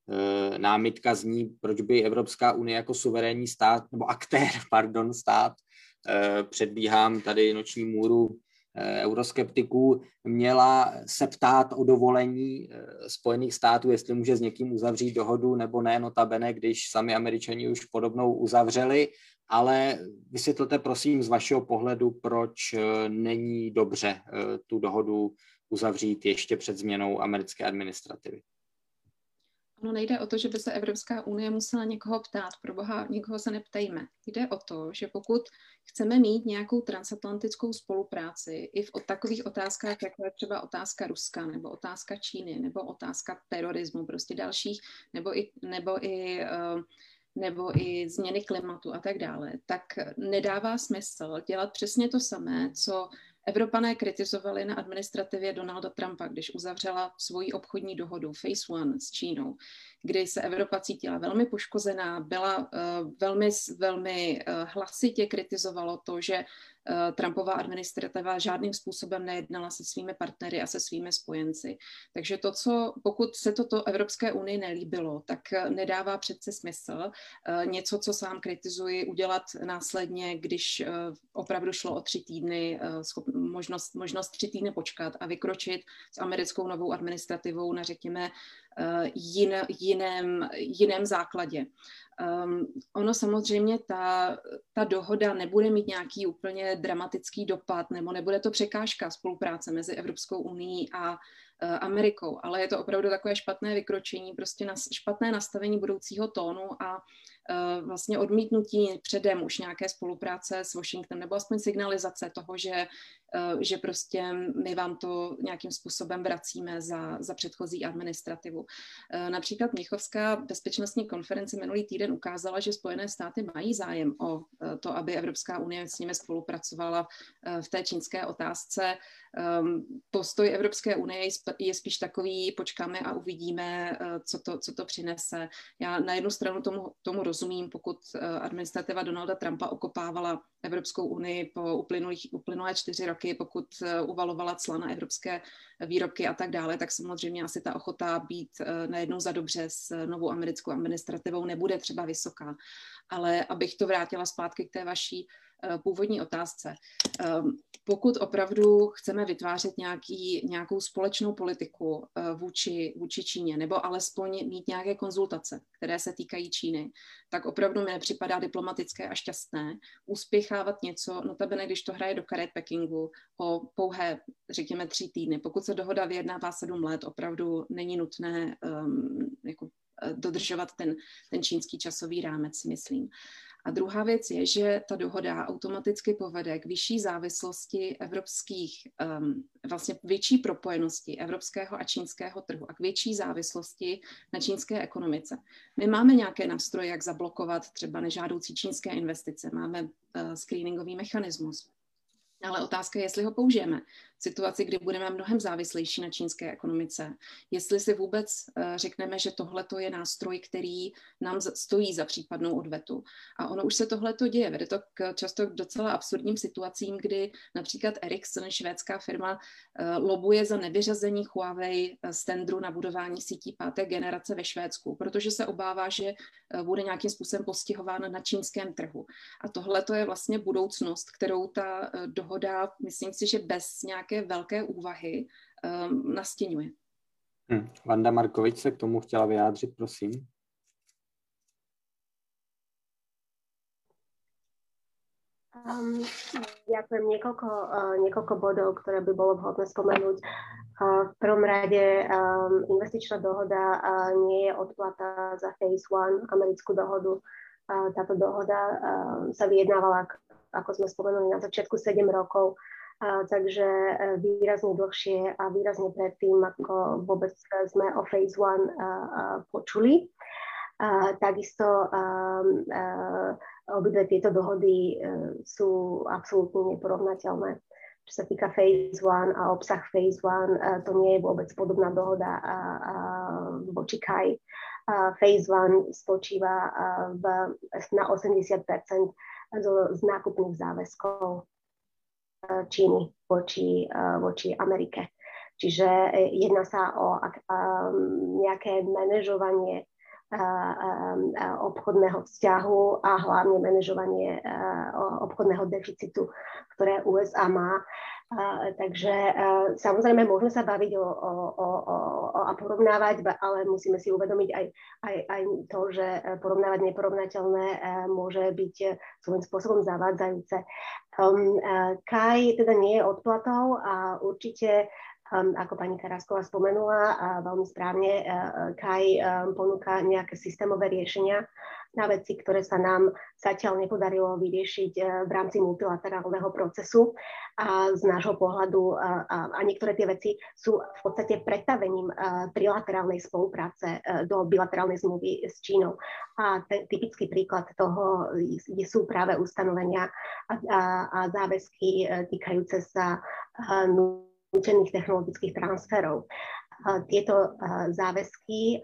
námitka zní, proč by Evropská unie jako suverénní stát, nebo aktér, stát, předbíhám tady noční můru euroskeptiků, měla se ptát o dovolení Spojených států, jestli může s někým uzavřít dohodu nebo ne, notabene, když sami Američani už podobnou uzavřeli, ale vysvětlete prosím z vašeho pohledu, proč není dobře tu dohodu uzavřít ještě před změnou americké administrativy. No, nejde o to, že by se Evropská unie musela někoho ptát. Pro boha, někoho se neptejme. Jde o to, že pokud chceme mít nějakou transatlantickou spolupráci i v takových otázkách, jako je třeba otázka Ruska, nebo otázka Číny, nebo otázka terorismu, prostě dalších, nebo i změny klimatu a tak dále, tak nedává smysl dělat přesně to samé, co Evropané kritizovali na administrativě Donalda Trumpa, když uzavřela svoji obchodní dohodu Phase One s Čínou, kdy se Evropa cítila velmi poškozená, byla velmi hlasitě kritizovalo to, že Trumpova administrativa žádným způsobem nejednala se svými partnery a se svými spojenci. Takže pokud se toto Evropské unii nelíbilo, tak nedává přece smysl něco, co sám kritizuji, udělat následně, když opravdu šlo o 3 týdny, možnost 3 týdny počkat a vykročit s americkou novou administrativou na, řekněme, jiném základě. Ono samozřejmě ta dohoda nebude mít nějaký úplně dramatický dopad, nebo nebude to překážka spolupráce mezi Evropskou unií a Amerikou, ale je to opravdu takové špatné vykročení, prostě špatné nastavení budoucího tónu a vlastně odmítnutí předem už nějaké spolupráce s Washingtonem, nebo aspoň signalizace toho, že prostě my vám to nějakým způsobem vracíme za předchozí administrativu. Například Mnichovská bezpečnostní konference minulý týden ukázala, že Spojené státy mají zájem o to, aby Evropská unie s nimi spolupracovala v té čínské otázce. Postoj Evropské unie je spíš takový, počkáme a uvidíme, co to přinese. Já na jednu stranu tomu rozumím, pokud administrativa Donalda Trumpa okopávala Evropskou unii po uplynulé 4 roky, pokud uvalovala cla na evropské výrobky a tak dále, tak samozřejmě asi ta ochota být najednou za dobře s novou americkou administrativou nebude třeba vysoká. Ale abych to vrátila zpátky k té vaší původní otázce. Pokud opravdu chceme vytvářet nějakou společnou politiku vůči Číně, nebo alespoň mít nějaké konzultace, které se týkají Číny, tak opravdu mi nepřipadá diplomatické a šťastné uspěchávat něco, notabene, když to hraje do karet Pekingu o pouhé, řekněme, 3 týdny. Pokud se dohoda vyjednává 7 let, opravdu není nutné dodržovat ten čínský časový rámec, myslím. A druhá věc je, že ta dohoda automaticky povede k vyšší závislosti vlastně větší propojenosti evropského a čínského trhu a k větší závislosti na čínské ekonomice. My máme nějaké nástroje, jak zablokovat třeba nežádoucí čínské investice, máme screeningový mechanismus. Ale otázka je, jestli ho použijeme v situaci, kdy budeme mnohem závislejší na čínské ekonomice. Jestli si vůbec řekneme, že tohleto je nástroj, který nám stojí za případnou odvetu. A ono už se tohleto děje. Vede to často k docela absurdním situacím, kdy například Ericsson, švédská firma, lobuje za nevyřazení Huawei z tendru na budování sítí 5. generace ve Švédsku, protože se obává, že bude nějakým způsobem postihována na čínském trhu. A tohleto je vlastně budoucnost, kterou ta dohoda, myslím si, že bez nějaké velké úvahy nastěňuje. Vanda Markovič se k tomu chtěla vyjádřit, prosím. Ďakujem. Niekoľko bodov, ktoré by bolo vhodné spomenúť. V prvom rade investičná dohoda nie je odplata za Phase One, americkú dohodu. Táto dohoda sa vyjednávala, ako sme spomenuli, na začiatku 7 rokov, takže výrazne dlhšie a výrazne predtým, ako vôbec sme o Phase One počuli. Takisto obidve tieto dohody sú absolútne neporovnateľné. Čo sa týka Phase One a obsah Phase One, to nie je vôbec podobná dohoda voči KAI. Phase One spočíva na 80% z nákupných záväzkov Číny voči Amerike. Čiže jedná sa o nejaké manažovanie obchodného vzťahu a hlavne manažovanie obchodného deficitu, ktoré USA má. Takže samozrejme môžeme sa baviť a porovnávať, ale musíme si uvedomiť aj to, že porovnávať neporovnateľné môže byť svojím spôsobom zavádzajúce. Kaj teda nie je odplatou a určite, ako pani Karásková spomenula, veľmi správne, Kaj ponúka nejaké systémové riešenia na veci, ktoré sa nám zatiaľ nepodarilo vyriešiť v rámci multilaterálneho procesu. A z nášho pohľadu a niektoré tie veci sú v podstate pretavením trilaterálnej spolupráce do bilaterálnej zmluvy s Čínou. A typický príklad toho sú práve ustanovenia a záväzky týkajúce sa nútených technologických transferov. Tieto záväzky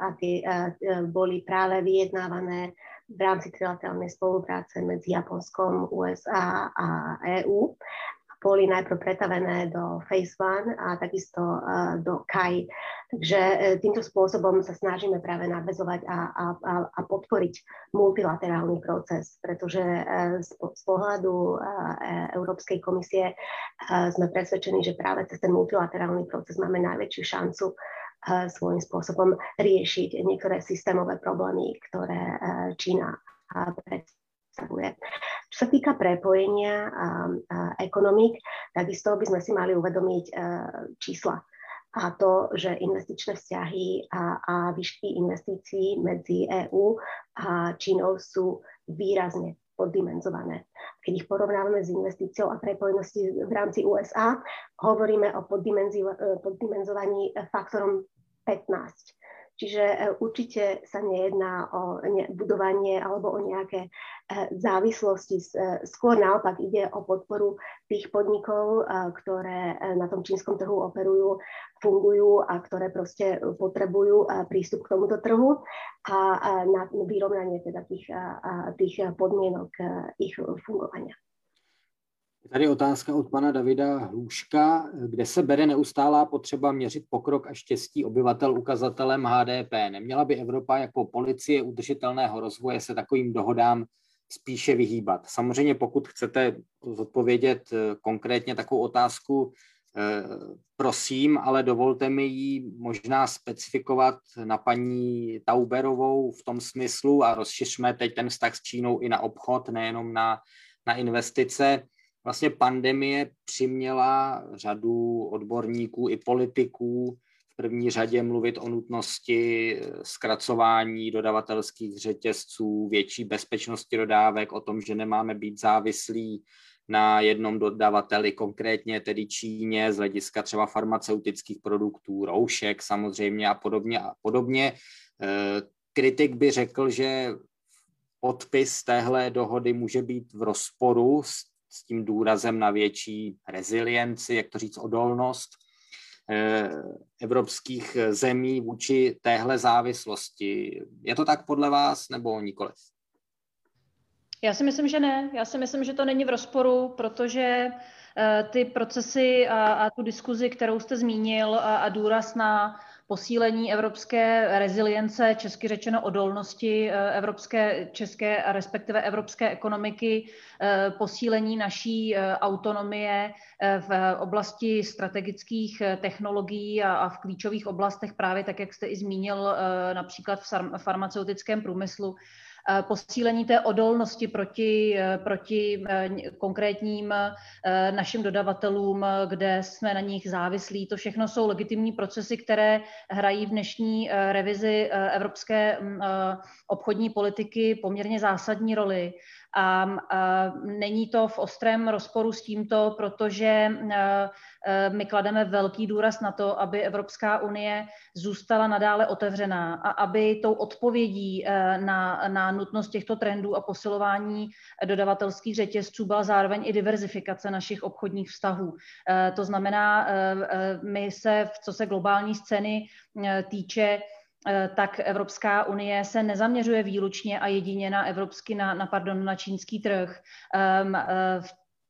boli práve vyjednávané v rámci trilaterálnej spolupráce medzi Japonskom, USA a EÚ. Boli najprv pretavené do Phase 1 a takisto do KAI. Takže týmto spôsobom sa snažíme práve nadväzovať a podporiť multilaterálny proces, pretože z pohľadu Európskej komisie sme presvedčení, že práve cez ten multilaterálny proces máme najväčšiu šancu svojím spôsobom riešiť niektoré systémové problémy, ktoré Čína predstavuje. Čo sa týka prepojenia ekonomík, takisto by sme si mali uvedomiť čísla. A to, že investičné vzťahy a výšky investícií medzi EÚ a Čínou sú výrazne poddimenzované. Keď ich porovnávame s investíciou a prepojenosti v rámci USA, hovoríme o poddimenzovaní faktorom 15. Čiže určite sa nejedná o budovanie alebo o nejaké závislosti. Skôr naopak ide o podporu tých podnikov, ktoré na tom čínskom trhu operujú, fungujú a ktoré proste potrebujú prístup k tomuto trhu a na vyrovnanie teda tých podmienok ich fungovania. Tady otázka od pana Davida Hluška, kde se bere neustálá potřeba měřit pokrok a štěstí obyvatel ukazatelem HDP. Neměla by Evropa jako policie udržitelného rozvoje se takovým dohodám spíše vyhýbat? Samozřejmě, pokud chcete odpovědět konkrétně takovou otázku, prosím, ale dovolte mi ji možná specifikovat na paní Tauberovou v tom smyslu a rozšiřme teď ten vztah s Čínou i na obchod, nejenom na investice. Vlastně pandemie přiměla řadu odborníků i politiků v první řadě mluvit o nutnosti zkracování dodavatelských řetězců, větší bezpečnosti dodávek, o tom, že nemáme být závislí na jednom dodavateli, konkrétně tedy Číně, z hlediska třeba farmaceutických produktů, roušek samozřejmě a podobně. Kritik by řekl, že podpis téhle dohody může být v rozporu s tím důrazem na větší rezilienci, jak to říct, odolnost evropských zemí vůči téhle závislosti. Je to tak podle vás, nebo nikoliv? Já si myslím, že ne. Já si myslím, že to není v rozporu, protože ty procesy a tu diskuzi, kterou jste zmínil, a důraz na posílení evropské rezilience, česky řečeno odolnosti české a respektive evropské ekonomiky, posílení naší autonomie v oblasti strategických technologií a v klíčových oblastech, právě tak, jak jste i zmínil, například v farmaceutickém průmyslu, posílení té odolnosti proti konkrétním našim dodavatelům, kde jsme na nich závislí. To všechno jsou legitimní procesy, které hrají v dnešní revizi evropské obchodní politiky poměrně zásadní roli. A není to v ostrém rozporu s tímto, protože my klademe velký důraz na to, aby Evropská unie zůstala nadále otevřená a aby tou odpovědí na nutnost těchto trendů a posilování dodavatelských řetězců byla zároveň i diverzifikace našich obchodních vztahů. To znamená, my se, co se globální scény týče, tak Evropská unie se nezaměřuje výlučně a jedině na čínský trh.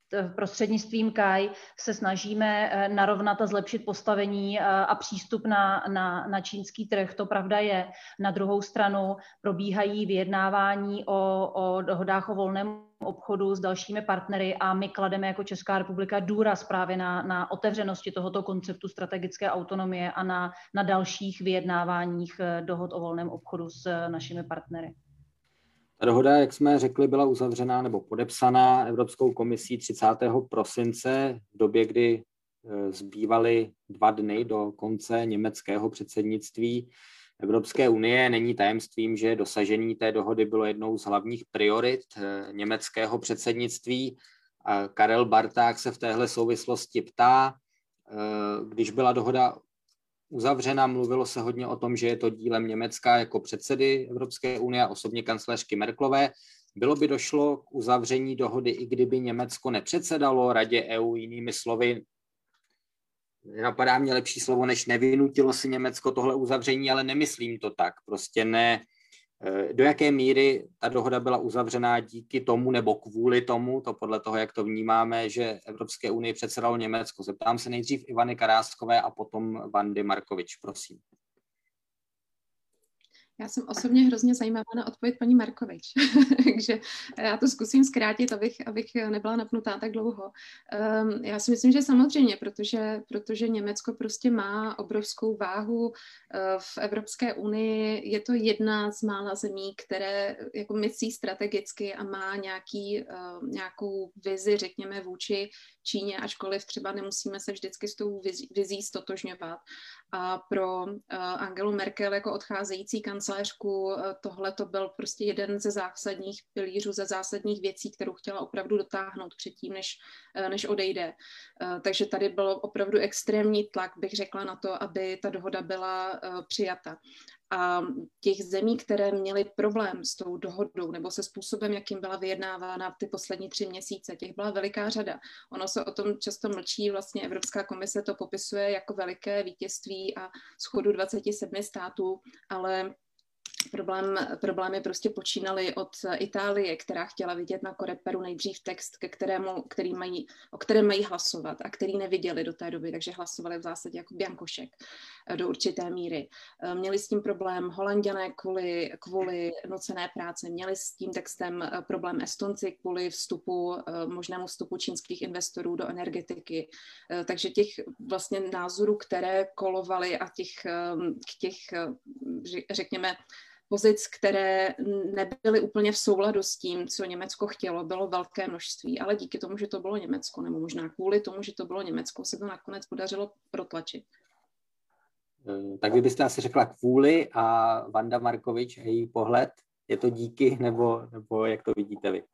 prostřednictvím KAI se snažíme narovnat a zlepšit postavení a přístup na čínský trh. To pravda je. Na druhou stranu probíhají vyjednávání o dohodách o volném obchodu s dalšími partnery a my klademe jako Česká republika důraz právě na otevřenosti tohoto konceptu strategické autonomie a na dalších vyjednáváních dohod o volném obchodu s našimi partnery. Ta dohoda, jak jsme řekli, byla uzavřená nebo podepsaná Evropskou komisí 30. prosince v době, kdy zbývaly 2 dny do konce německého předsednictví Evropské unie. Není tajemstvím, že dosažení té dohody bylo jednou z hlavních priorit německého předsednictví. Karel Barták se v téhle souvislosti ptá, když byla dohoda uzavřena, mluvilo se hodně o tom, že je to dílem Německa jako předsedy Evropské unie a osobně kancléřky Merkelové. Bylo by došlo k uzavření dohody, i kdyby Německo nepředsedalo Radě EU, jinými slovy, napadá mě lepší slovo, než nevynutilo si Německo tohle uzavření, ale nemyslím to tak. Prostě ne. Do jaké míry ta dohoda byla uzavřená díky tomu nebo kvůli tomu, to podle toho, jak to vnímáme, že Evropské unii předsedalo Německo. Zeptám se nejdřív Ivany Karáskové a potom Vandy Markovič, prosím. Já jsem osobně hrozně zajímavá na odpověď paní Markovič, takže já to zkusím zkrátit, abych nebyla napnutá tak dlouho. Já si myslím, že samozřejmě, protože Německo prostě má obrovskou váhu v Evropské unii. Je to jedna z mála zemí, které jako myslí strategicky a má nějakou vizi, řekněme, vůči Číně, ačkoliv třeba nemusíme se vždycky s tou vizí stotožňovat. A pro Angelu Merkel jako odcházející kancléřku tohle to byl prostě jeden ze zásadních pilířů, ze zásadních věcí, kterou chtěla opravdu dotáhnout předtím, než odejde. Takže tady byl opravdu extrémní tlak, bych řekla, na to, aby ta dohoda byla přijata. A těch zemí, které měly problém s tou dohodou nebo se způsobem, jakým byla vyjednávána ty poslední 3 měsíce, těch byla veliká řada. Ono se o tom často mlčí, vlastně Evropská komise to popisuje jako veliké vítězství a shodu 27 států, ale problémy prostě počínaly od Itálie, která chtěla vidět na Coreperu nejdřív text, o kterém mají hlasovat a který neviděli do té doby, takže hlasovali v zásadě jako biankošek do určité míry. Měli s tím problém Holanďané kvůli nucené práce, měli s tím textem problém Estonci kvůli možnému vstupu čínských investorů do energetiky. Takže těch vlastně názorů, které kolovaly a těch řekněme, pozic, které nebyly úplně v souladu s tím, co Německo chtělo, bylo velké množství, ale díky tomu, že to bylo Německo, nebo možná kvůli tomu, že to bylo Německo, se to nakonec podařilo protlačit. Tak vy byste asi řekla kvůli a Vanda Markovič a její pohled, je to díky, nebo jak to vidíte vy?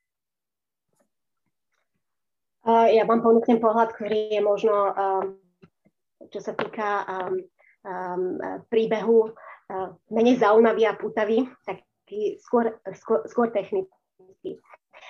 Ja vám ponúknem pohľad, ktorý je možno, čo sa týka príbehu, menej zaujímavý a pútavý, taký skôr technický.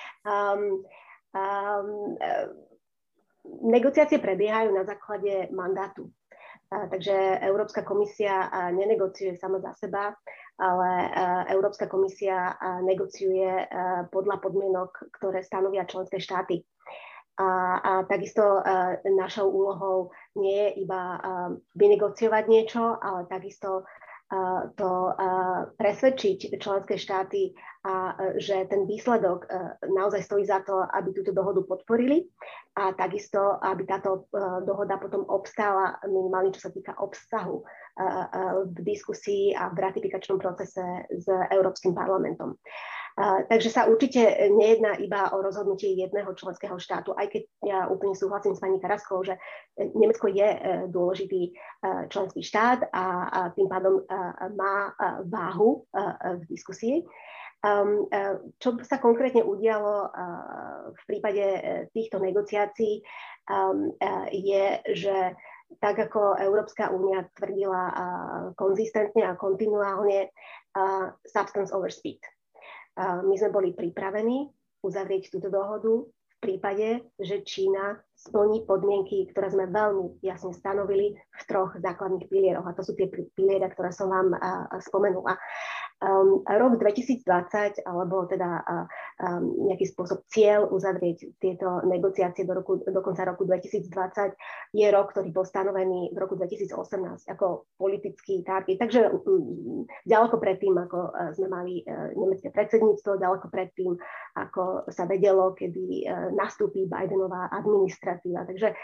Negociácie prebiehajú na základe mandátu. Takže Európska komisia nenegociuje sama za seba, ale Európska komisia negociuje podľa podmienok, ktoré stanovia členské štáty. A takisto našou úlohou nie je iba vynegociovať niečo, ale takisto to presvedčiť členské štáty, že ten výsledok naozaj stojí za to, aby túto dohodu podporili a takisto, aby táto dohoda potom obstála minimálne, čo sa týka obsahu v diskusii a v ratifikačnom procese s Európskym parlamentom. Takže sa určite nejedná iba o rozhodnutie jedného členského štátu, aj keď ja úplne súhlasím s pani Karaskovou, že Nemecko je dôležitý členský štát a tým pádom má váhu v diskusii. Čo sa konkrétne udialo v prípade týchto negociácií je, že tak ako Európska únia tvrdila konzistentne a kontinuálne substance over speed. My sme boli pripravení uzavrieť túto dohodu v prípade, že Čína splní podmienky, ktoré sme veľmi jasne stanovili v 3 základných pilieroch. A to sú tie piliere, ktoré som vám spomenula. rok 2020, alebo teda nejaký spôsob cieľ uzavrieť tieto negociácie do konca roku 2020 je rok, ktorý bol stanovený v roku 2018 ako politický target. Takže ďaleko predtým, ako sme mali nemecké predsedníctvo, ďaleko predtým, ako sa vedelo, kedy nastúpi Bidenová administratíva. Takže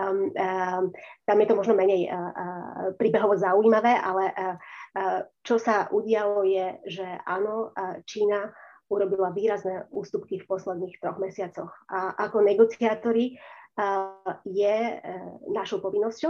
tam je to možno menej príbehovo zaujímavé, ale čo sa udialo je, že áno, Čína urobila výrazné ústupky v posledných 3 mesiacoch. A ako negociátori je našou povinnosťou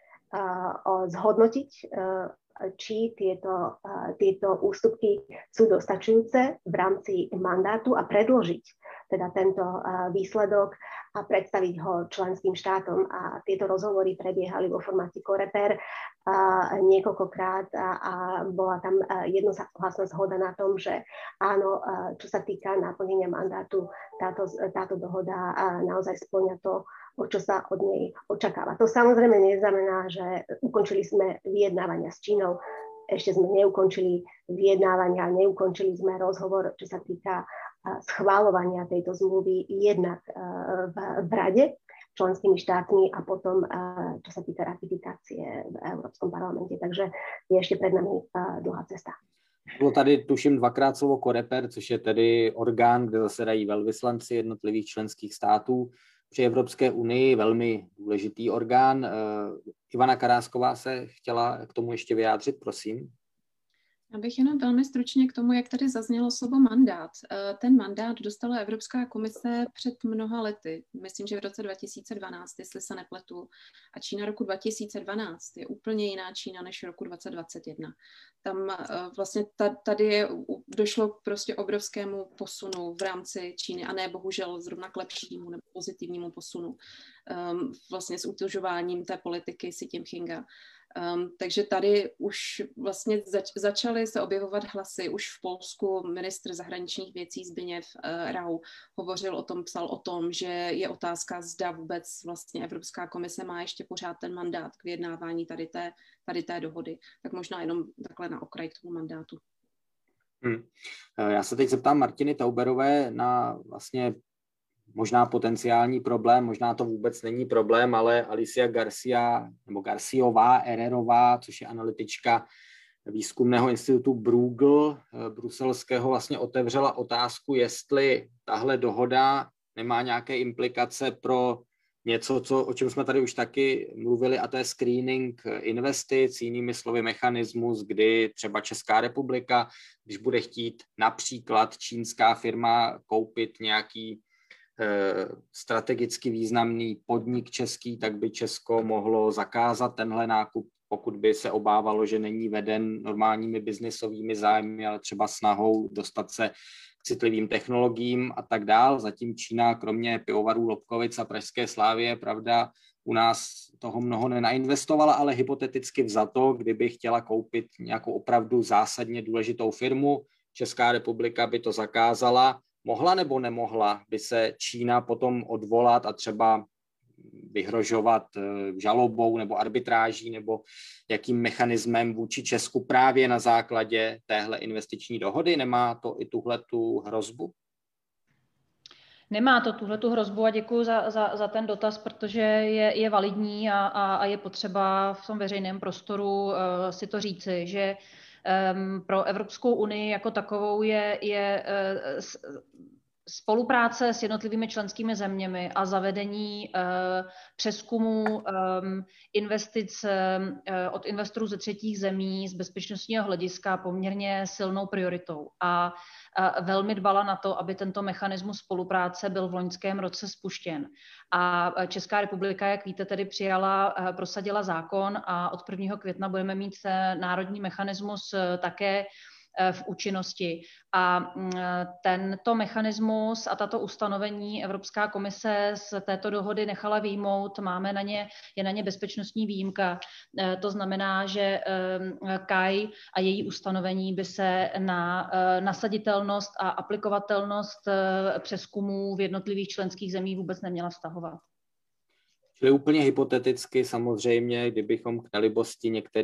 zhodnotiť, či tieto ústupky sú dostačujúce v rámci mandátu a predložiť teda tento výsledok a predstaviť ho členským štátom. A tieto rozhovory prebiehali vo formáte Coreper niekoľkokrát a bola tam jednohlasná zhoda na tom, že áno, čo sa týka naplnenia mandátu, táto dohoda naozaj spĺňa to, o čo sa od nej očakáva. To samozrejme neznamená, že ukončili sme vyjednávania s Čínou. Ešte sme neukončili vyjednávania, neukončili sme rozhovor, čo sa týka schváľovania tejto zmluvy jednak v Rade členskými štátmi a potom, čo sa týka ratifikácie v Európskom parlamente. Takže je ešte pred nami dlhá cesta. Bylo tady, tuším, 2krát slovo Coreper, což je tedy orgán, kde zasedají velvyslanci jednotlivých členských států. Při Evropské unii velmi důležitý orgán. Ivana Karásková se chtěla k tomu ještě vyjádřit, prosím. Já bych jenom velmi stručně k tomu, jak tady zaznělo slovo mandát. Ten mandát dostala Evropská komise před mnoha lety. Myslím, že v roce 2012, jestli se nepletu. A Čína roku 2012 je úplně jiná Čína než roku 2021. Tam vlastně tady došlo k prostě obrovskému posunu v rámci Číny a ne bohužel zrovna k lepšímu nebo pozitivnímu posunu vlastně s utužováním té politiky Xi Jinpinga. Takže tady už vlastně začaly se objevovat hlasy. Už v Polsku ministr zahraničních věcí Zbigniew Rau hovořil o tom, psal o tom, že je otázka, zda vůbec vlastně Evropská komise má ještě pořád ten mandát k vyjednávání tady té dohody. Tak možná jenom takhle na okraj k tomu mandátu. Já se teď zeptám Martiny Tauberové na vlastně možná potenciální problém, možná to vůbec není problém, ale Alicia Garciová Ererová, což je analytička výzkumného institutu Bruegel bruselského, vlastně otevřela otázku, jestli tahle dohoda nemá nějaké implikace pro něco, o čem jsme tady už taky mluvili, a to je screening investic, jinými slovy mechanismus, kdy třeba Česká republika, když bude chtít například čínská firma koupit nějaký strategicky významný podnik český, tak by Česko mohlo zakázat tenhle nákup, pokud by se obávalo, že není veden normálními biznisovými zájmy, ale třeba snahou dostat se k citlivým technologiím a tak dál. Zatím Čína, kromě pivovarů Lobkovic a Pražské Slávie, pravda, u nás toho mnoho nenainvestovala, ale hypoteticky vzato, kdyby chtěla koupit nějakou opravdu zásadně důležitou firmu, Česká republika by to zakázala. Mohla nebo nemohla by se Čína potom odvolat a třeba vyhrožovat žalobou nebo arbitráží nebo jakým mechanismem vůči Česku právě na základě téhle investiční dohody? Nemá to i tuhletu hrozbu? Nemá to tuhletu hrozbu a děkuji za ten dotaz, protože je validní a je potřeba v tom veřejném prostoru si to říci, že pro Evropskou unii jako takovou je spolupráce s jednotlivými členskými zeměmi a zavedení přezkumu investic od investorů ze třetích zemí z bezpečnostního hlediska poměrně silnou prioritou. A velmi dbala na to, aby tento mechanismus spolupráce byl v loňském roce spuštěn. A Česká republika, jak víte, tedy prosadila zákon a od 1. května budeme mít národní mechanismus také v účinnosti. A tento mechanismus a tato ustanovení Evropská komise z této dohody nechala vyjmout. Je na ně bezpečnostní výjimka. To znamená, že KAI a její ustanovení by se na nasaditelnost a aplikovatelnost přezkumů v jednotlivých členských zemích vůbec neměla vztahovat. Čili úplně hypoteticky samozřejmě, kdybychom k nelibosti některých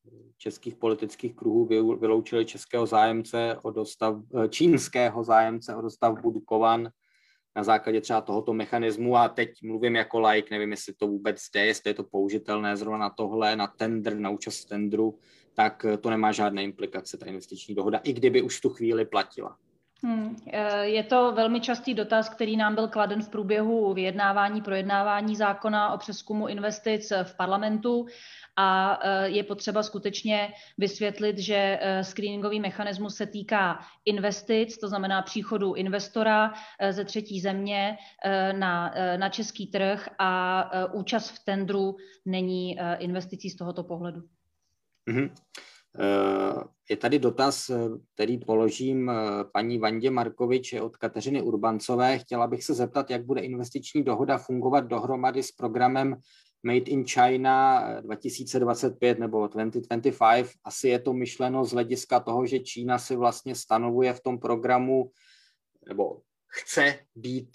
českých politických kruhů vyloučili českého zájemce čínského zájemce o dostavbu Dukovan na základě třeba tohoto mechanismu, a teď mluvím jako laik, nevím, jestli to vůbec jde, jestli je to použitelné zrovna na tohle, na tender, na účast v tendru, tak to nemá žádné implikace, ta investiční dohoda, i kdyby už v tu chvíli platila. Je to velmi častý dotaz, který nám byl kladen v průběhu projednávání zákona o přezkumu investic v parlamentu, a je potřeba skutečně vysvětlit, že screeningový mechanismus se týká investic, to znamená příchodu investora ze třetí země na český trh, a účast v tendru není investicí z tohoto pohledu. Mm-hmm. Je tady dotaz, který položím paní Vandě Markovič od Kateřiny Urbancové. Chtěla bych se zeptat, jak bude investiční dohoda fungovat dohromady s programem Made in China 2025 nebo 2025. Asi je to myšleno z hlediska toho, že Čína si vlastně stanovuje v tom programu, nebo chce být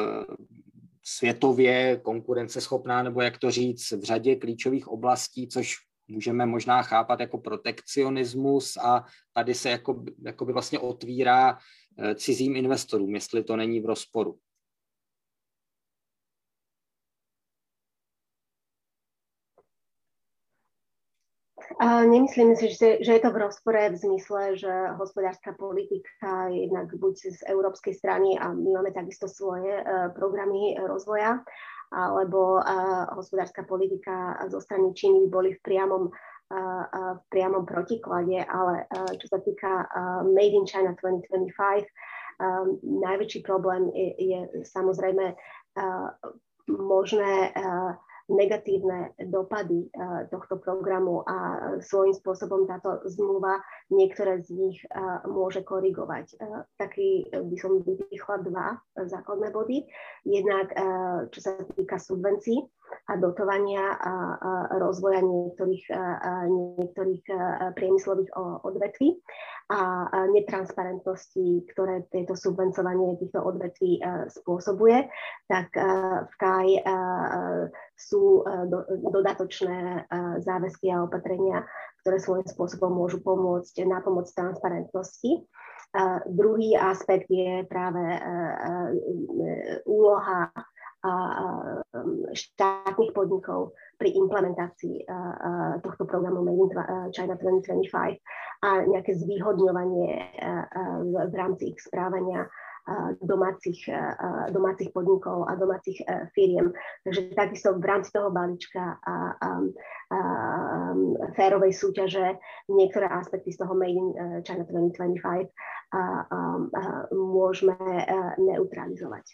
světově konkurenceschopná, nebo jak to říct, v řadě klíčových oblastí, což můžeme možná chápat jako protekcionismus, a tady se jakoby vlastně otvírá cizím investorům, jestli to není v rozporu. Nemyslím si, že je to v rozpore v zmysle, že hospodárska politika jednak buď z európskej strany, a my máme takisto svoje programy rozvoja, alebo hospodárska politika zo strany Číny boli v priamom protiklade, ale čo sa týka Made in China 2025, najväčší problém je samozrejme možné negatívne dopady tohto programu, a svojím spôsobom táto zmluva niektoré z nich môže korigovať. Taký by som vypichla dva základné body. Jednak, čo sa týka subvencií a dotovania a rozvoja niektorých priemyslových odvetví a netransparentnosti, ktoré tieto subvencovanie týchto odvetví spôsobuje, tak v KAI sú dodatočné záväzky a opatrenia, ktoré svojím spôsobom môžu pomôcť na pomoc transparentnosti. Druhý aspekt je práve úloha štátnych podnikov pri implementácii tohto programu Made in China 2025 a nejaké zvýhodňovanie v rámci ich správania domácich podnikov a domácich firiem. Takže takisto v rámci toho balíčka férovej súťaže niektoré aspekty z toho Made in China 2025 môžeme neutralizovať.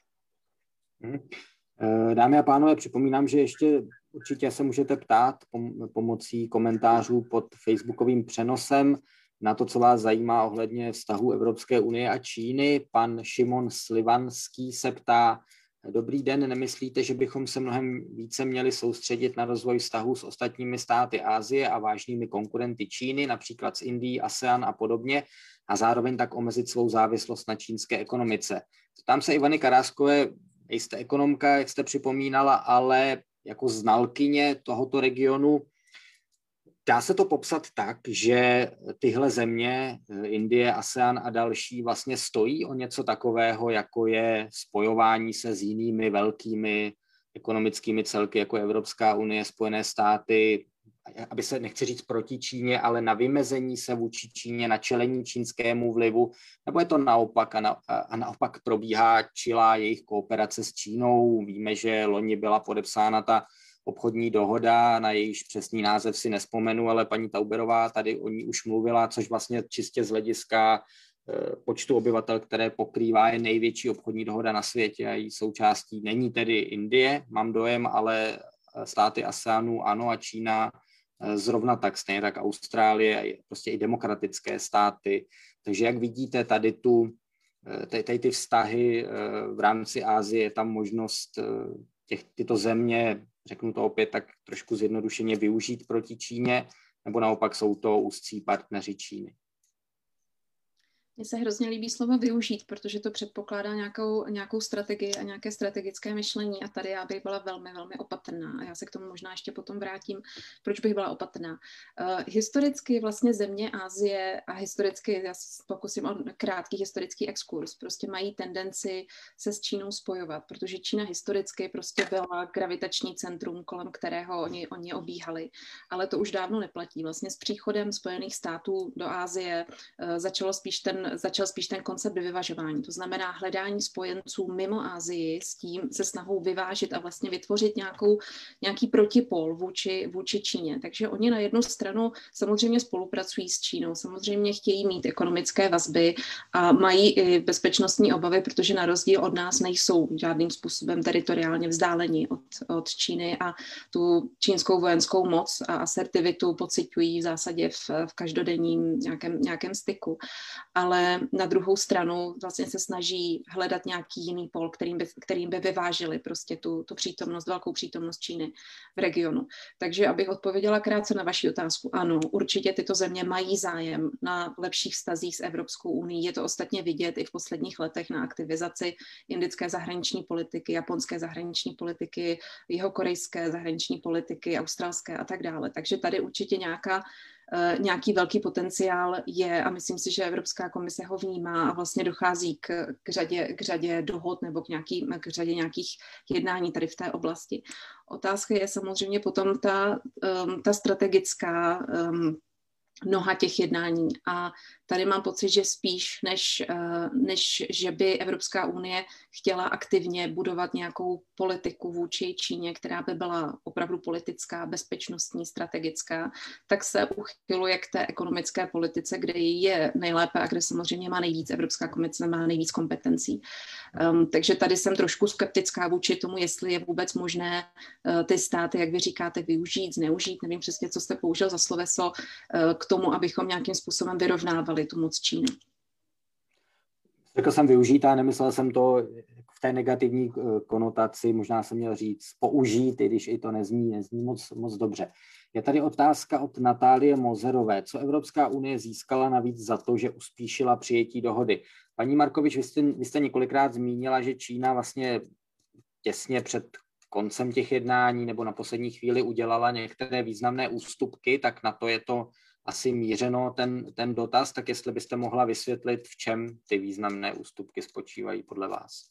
Dámy a pánové, připomínám, že ještě určitě se můžete ptát pomocí komentářů pod facebookovým přenosem na to, co vás zajímá ohledně vztahu Evropské unie a Číny. Pan Šimon Slivanský se ptá: Dobrý den, nemyslíte, že bychom se mnohem více měli soustředit na rozvoj vztahů s ostatními státy Asie a vážnými konkurenty Číny, například s Indií, ASEAN a podobně, a zároveň tak omezit svou závislost na čínské ekonomice? Tam se Ivany Karáskové, jste ekonomka, jak jste připomínala, ale jako znalkyně tohoto regionu, dá se to popsat tak, že tyhle země, Indie, ASEAN a další, vlastně stojí o něco takového, jako je spojování se s jinými velkými ekonomickými celky, jako Evropská unie, Spojené státy, aby se, nechci říct proti Číně, ale na vymezení se vůči Číně, na čelení čínskému vlivu, nebo je to naopak a naopak probíhá čilá jejich kooperace s Čínou? Víme, že loni byla podepsána ta obchodní dohoda, na jejíž přesný název si nespomenu, ale paní Tauberová tady o ní už mluvila, což vlastně čistě z hlediska počtu obyvatel, které pokrývá, je největší obchodní dohoda na světě a její součástí není tedy Indie, mám dojem, ale státy ASEANu ano, a Čína zrovna tak, stejně tak Austrálie, prostě i demokratické státy. Takže jak vidíte tady ty vztahy v rámci Asie, je tam možnost tyto země, řeknu to opět tak trošku zjednodušeně, využít proti Číně, nebo naopak jsou to úzcí partneři Číny? Mně se hrozně líbí slovo využít, protože to předpokládá nějakou strategii a nějaké strategické myšlení a tady já bych byla velmi, velmi opatrná a já se k tomu možná ještě potom vrátím, proč bych byla opatrná. Historicky vlastně země Asie a historicky, já se pokusím o krátký historický exkurs, prostě mají tendenci se s Čínou spojovat, protože Čína historicky prostě byla gravitační centrum, kolem kterého oni obíhali, ale to už dávno neplatí. Vlastně s příchodem Spojených států do Asie začal spíš ten koncept vyvažování. To znamená hledání spojenců mimo Asii s tím, se snahou vyvážit a vlastně vytvořit nějaký protipol vůči Číně. Takže oni na jednu stranu samozřejmě spolupracují s Čínou, samozřejmě chtějí mít ekonomické vazby a mají i bezpečnostní obavy, protože na rozdíl od nás nejsou žádným způsobem teritoriálně vzdáleni od Číny a tu čínskou vojenskou moc a asertivitu pociťují v zásadě v každodenním nějakém styku. Ale na druhou stranu vlastně se snaží hledat nějaký jiný pol, kterým by vyvážili prostě tu přítomnost, velkou přítomnost Číny v regionu. Takže abych odpověděla krátce na vaši otázku. Ano, určitě tyto země mají zájem na lepších vztazích s Evropskou unií. Je to ostatně vidět i v posledních letech na aktivizaci indické zahraniční politiky, japonské zahraniční politiky, jihokorejské zahraniční politiky, australské a tak dále. Takže tady určitě nějaký velký potenciál je a myslím si, že Evropská komise ho vnímá a vlastně dochází k řadě dohod nebo k řadě nějakých jednání tady v té oblasti. Otázka je samozřejmě potom ta strategická noha těch jednání a tady mám pocit, že spíš než že by Evropská unie chtěla aktivně budovat nějakou politiku vůči Číně, která by byla opravdu politická, bezpečnostní, strategická, tak se uchyluje k té ekonomické politice, kde je nejlépe a kde samozřejmě má nejvíc, Evropská komise má nejvíc kompetencí. Takže tady jsem trošku skeptická vůči tomu, jestli je vůbec možné ty státy, jak vy říkáte, využít, zneužít, nevím přesně, co jste použil za sloveso, k tomu, abychom nějakým způsobem vyrovnávali tu moc Číny. Řekl jsem využít a nemyslel jsem to v té negativní konotaci, možná jsem měl říct použít, i když i to nezní moc dobře. Je tady otázka od Natálie Mozerové. Co Evropská unie získala navíc za to, že uspíšila přijetí dohody? Paní Markovič, vy jste několikrát zmínila, že Čína vlastně těsně před koncem těch jednání nebo na poslední chvíli udělala některé významné ústupky, tak na to je to asi mířeno ten dotaz, tak jestli byste mohla vysvětlit, v čem ty významné ústupky spočívají podle vás.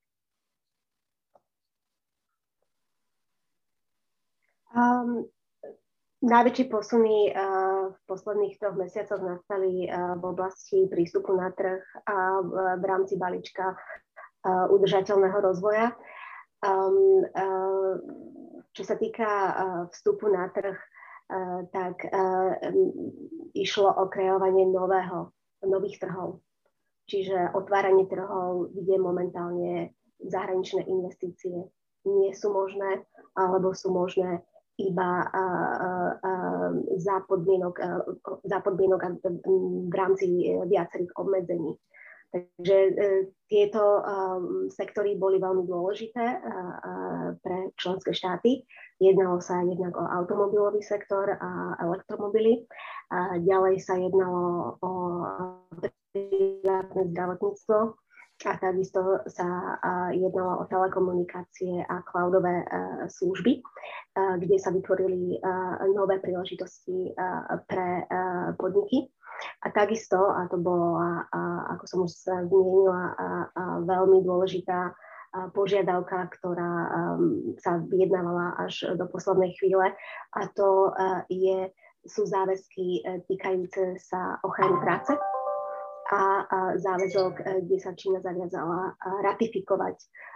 Najväčšie posuny v posledných 3 mesiacoch nastali v oblasti prístupu na trh a v rámci balíčka udržateľného rozvoja. Čo sa týka vstupu na trh, tak išlo o kreovanie nových trhov. Čiže otváranie trhov, kde momentálne zahraničné investície nie sú možné, alebo sú možné iba za podmienok v rámci viacerých obmedzení. Takže tieto sektory boli veľmi dôležité pre členské štáty. Jednalo sa jednak o automobilový sektor a elektromobily. Ďalej sa jednalo o privátne zdravotníctvo a takisto sa jednalo o telekomunikácie a cloudové služby, kde sa vytvorili nové príležitosti pre podniky. A takisto, a to bola, ako som už zmienila, veľmi dôležitá požiadavka, ktorá sa vyjednávala až do poslednej chvíle, a to sú záväzky týkajúce sa ochrany práce a záväzok, kde sa Čína zaviazala ratifikovať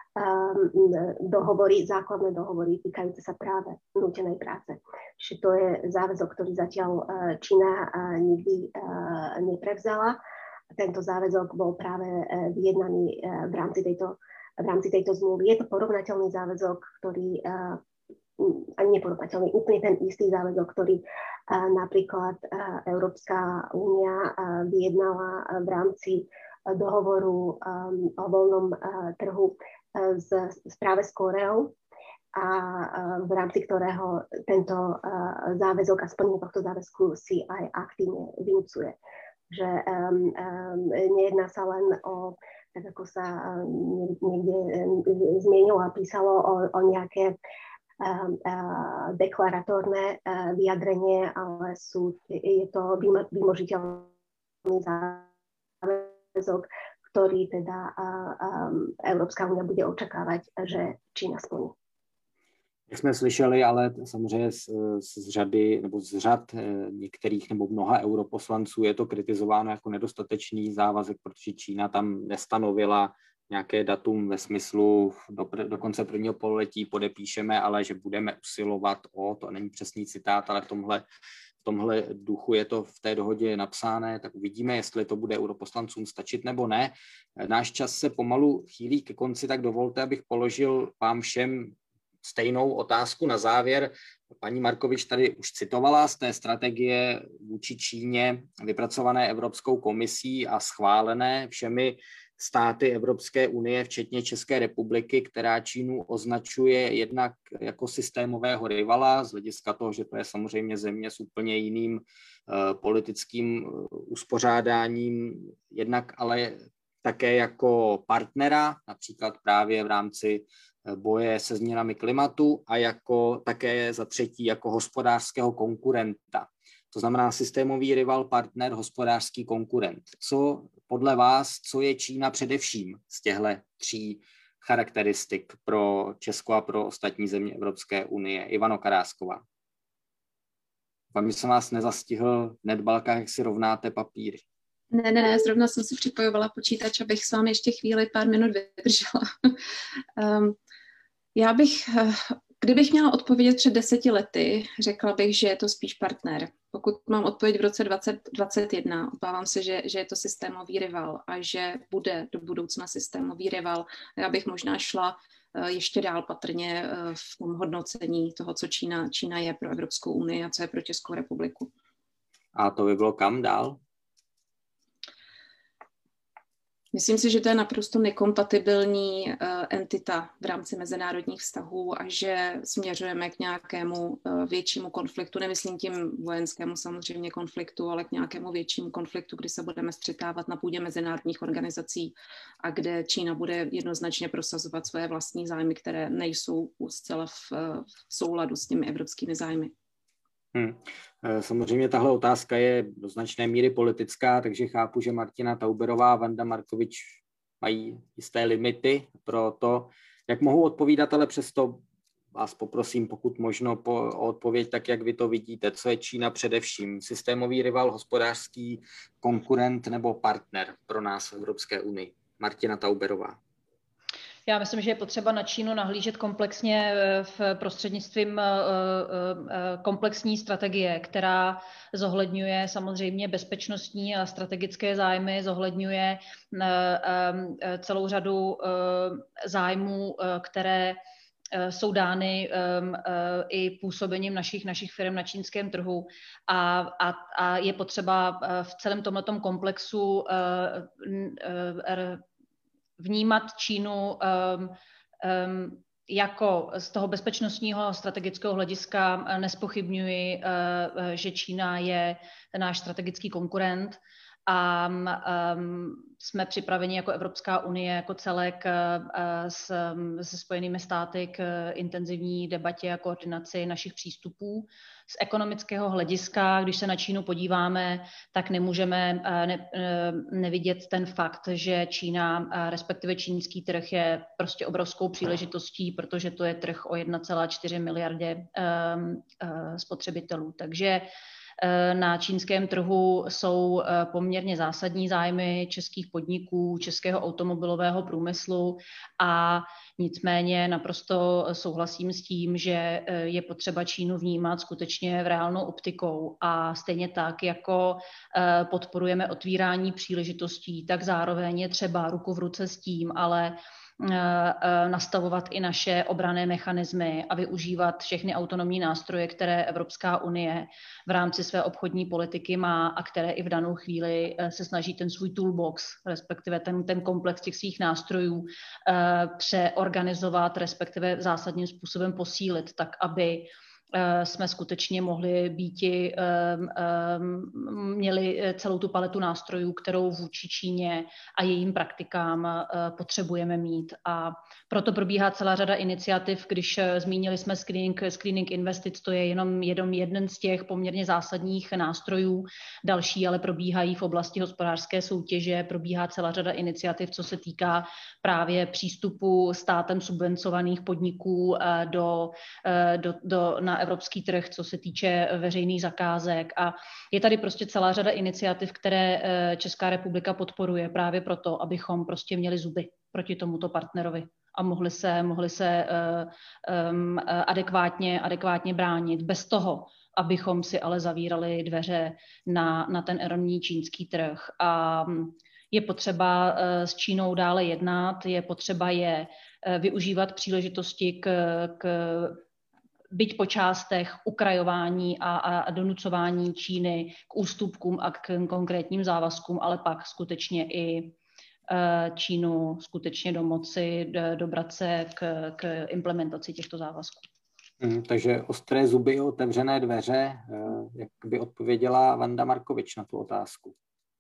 základné dohovory týkajúce sa práve nútenej práce. Čiže to je záväzok, ktorý zatiaľ Čína nikdy neprevzala. Tento záväzok bol práve vyjednaný v rámci tejto zmluvy. Je to porovnateľný záväzok, ktorý ani neporovnateľný, úplne ten istý záväzok, ktorý napríklad Európska únia vyjednala v rámci dohovoru o voľnom trhu práve s Kóreou a v rámci ktorého tento záväzok a splnenie tohto záväzku si aj aktívne vynucuje. že nejedná sa len o, tak ako sa niekde zmienilo a písalo, o nejaké deklaratórne vyjadrenie, ale je to vymožiteľný záväzok, ktorý teda Európska únia bude očakávať, že Čína splní. Jak jsme slyšeli, ale samozřejmě z řady nebo z řad některých nebo mnoha europoslanců je to kritizováno jako nedostatečný závazek, protože Čína tam nestanovila nějaké datum ve smyslu do konce prvního pololetí podepíšeme, ale že budeme usilovat to není přesný citát, ale v tomhle duchu je to v té dohodě napsáné, tak uvidíme, jestli to bude europoslancům stačit nebo ne. Náš čas se pomalu chýlí ke konci, tak dovolte, abych položil vám všem stejnou otázku na závěr. Paní Markovič tady už citovala z té strategie vůči Číně vypracované Evropskou komisí a schválené všemi státy Evropské unie, včetně České republiky, která Čínu označuje jednak jako systémového rivala, z hlediska toho, že to je samozřejmě země s úplně jiným politickým uspořádáním, jednak ale také jako partnera, například právě v rámci boje se změnami klimatu a také za třetí jako hospodářského konkurenta. To znamená systémový rival, partner, hospodářský konkurent. Co podle vás, co je Čína především z těchto tří charakteristik pro Česko a pro ostatní země Evropské unie? Ivano Karásková. Vám jsem vás nezastihl v netbalkách, jak si rovnáte papíry. Ne, zrovna jsem si připojovala počítač, abych s vámi ještě pár minut vydržela. Kdybych měla odpovědět před 10 lety, řekla bych, že je to spíš partner. Pokud mám odpověď v roce 2021, obávám se, že je to systémový rival a že bude do budoucna systémový rival. Já bych možná šla ještě dál patrně v tom hodnocení toho, co Čína je pro Evropskou unii a co je pro Českou republiku. A to by bylo kam dál? Myslím si, že to je naprosto nekompatibilní entita v rámci mezinárodních vztahů a že směřujeme k nějakému většímu konfliktu, nemyslím tím vojenskému samozřejmě konfliktu, ale k nějakému většímu konfliktu, kdy se budeme střetávat na půdě mezinárodních organizací a kde Čína bude jednoznačně prosazovat své vlastní zájmy, které nejsou zcela v souladu s těmi evropskými zájmy. Samozřejmě tahle otázka je do značné míry politická, takže chápu, že Martina Tauberová a Vanda Markovič mají jisté limity pro to, jak mohou odpovídat, ale přesto vás poprosím, pokud možno, o odpověď tak, jak vy to vidíte. Co je Čína především? Systémový rival, hospodářský konkurent nebo partner pro nás v Evropské unii? Martina Tauberová. Já myslím, že je potřeba na Čínu nahlížet komplexně v prostřednictvím komplexní strategie, která zohledňuje samozřejmě bezpečnostní a strategické zájmy, zohledňuje celou řadu zájmů, které jsou dány i působením našich firm na čínském trhu a je potřeba v celém tomhletom komplexu vnímat Čínu jako z toho bezpečnostního strategického hlediska nespochybňuji, že Čína je náš strategický konkurent a jsme připraveni jako Evropská unie, jako celek se Spojenými státy k intenzivní debatě a koordinaci našich přístupů. Z ekonomického hlediska, když se na Čínu podíváme, tak nemůžeme nevidět ten fakt, že Čína, respektive čínský trh je prostě obrovskou příležitostí, protože to je trh o 1,4 miliardě spotřebitelů. Takže na čínském trhu jsou poměrně zásadní zájmy českých podniků, českého automobilového průmyslu a nicméně naprosto souhlasím s tím, že je potřeba Čínu vnímat skutečně v reálnou optikou a stejně tak, jako podporujeme otvírání příležitostí, tak zároveň je třeba ruku v ruce s tím, ale nastavovat i naše obranné mechanismy a využívat všechny autonomní nástroje, které Evropská unie v rámci své obchodní politiky má a které i v danou chvíli se snaží ten svůj toolbox, respektive ten komplex těch svých nástrojů přeorganizovat, respektive zásadním způsobem posílit, tak aby jsme skutečně mohli býti, měli celou tu paletu nástrojů, kterou vůči Číně a jejím praktikám potřebujeme mít. A proto probíhá celá řada iniciativ, když zmínili jsme screening investic, to je jenom jeden z těch poměrně zásadních nástrojů. Další ale probíhají v oblasti hospodářské soutěže, probíhá celá řada iniciativ, co se týká právě přístupu státem subvencovaných podniků na evropský trh, co se týče veřejných zakázek. A je tady prostě celá řada iniciativ, které Česká republika podporuje právě proto, abychom prostě měli zuby proti tomuto partnerovi a mohli se adekvátně bránit bez toho, abychom si ale zavírali dveře na ten enormní čínský trh. A je potřeba s Čínou dále jednat, je potřeba je využívat příležitosti k byť po částech ukrajování a donucování Číny k ústupkům a k konkrétním závazkům, ale pak skutečně i Čínu skutečně dobrat se k implementaci těchto závazků. Takže ostré zuby, otevřené dveře, jak by odpověděla Vanda Markovič na tu otázku?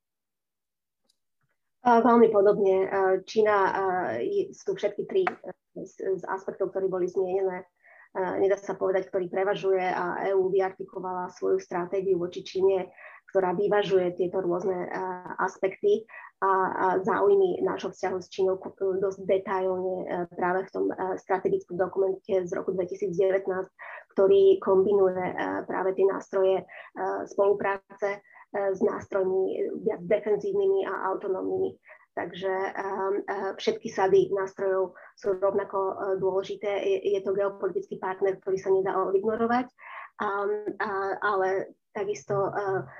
Veľmi podobne. Čína, sú všetky tri z aspektov, ktoré boli zmienené. Nedá sa povedať, ktorý prevažuje a EÚ vyartikovala svoju stratégiu voči Číne, ktorá vyvažuje tieto rôzne aspekty a záujmy nášho vzťahu s Čínou dosť detailne práve v tom strategickom dokumente z roku 2019, ktorý kombinuje práve tie nástroje spolupráce s nástrojmi viac defenzívnymi a autonómnymi. Takže všetky sady nástrojov sú rovnako dôležité. Je to geopolitický partner, ktorý sa nedá ignorovať, ale takisto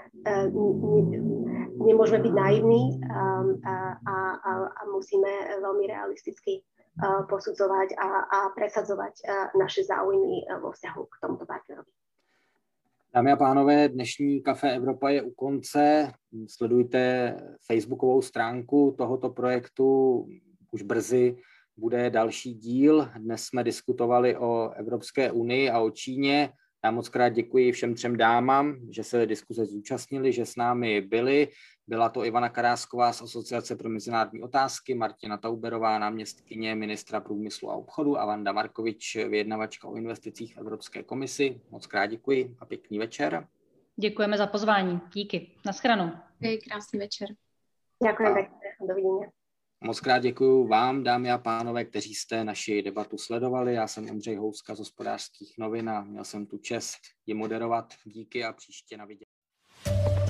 nemôžeme byť naivní a musíme veľmi realisticky posudzovať a presadzovať naše záujmy vo vzťahu k tomuto partnerovi. Dámy a pánové, dnešní Café Evropa je u konce. Sledujte facebookovou stránku tohoto projektu. Už brzy bude další díl. Dnes jsme diskutovali o Evropské unii a o Číně. Já moc krát děkuji všem třem dámám, že se diskuze zúčastnili, že s námi byli. Byla to Ivana Karásková z Asociace pro mezinárodní otázky, Martina Tauberová, náměstkyně ministra průmyslu a obchodu a Vanda Markovič, vyjednavačka o investicích v Evropské komisi. Moc krát děkuji a pěkný večer. Děkujeme za pozvání. Díky. Naschranou. Krásný večer. Děkujeme pěkně. Dovidenia. Moc krát děkuji vám, dámy a pánové, kteří jste naši debatu sledovali. Já jsem Ondřej Houska z Hospodářských novin a měl jsem tu čest ji moderovat. Díky a příště na viděnou.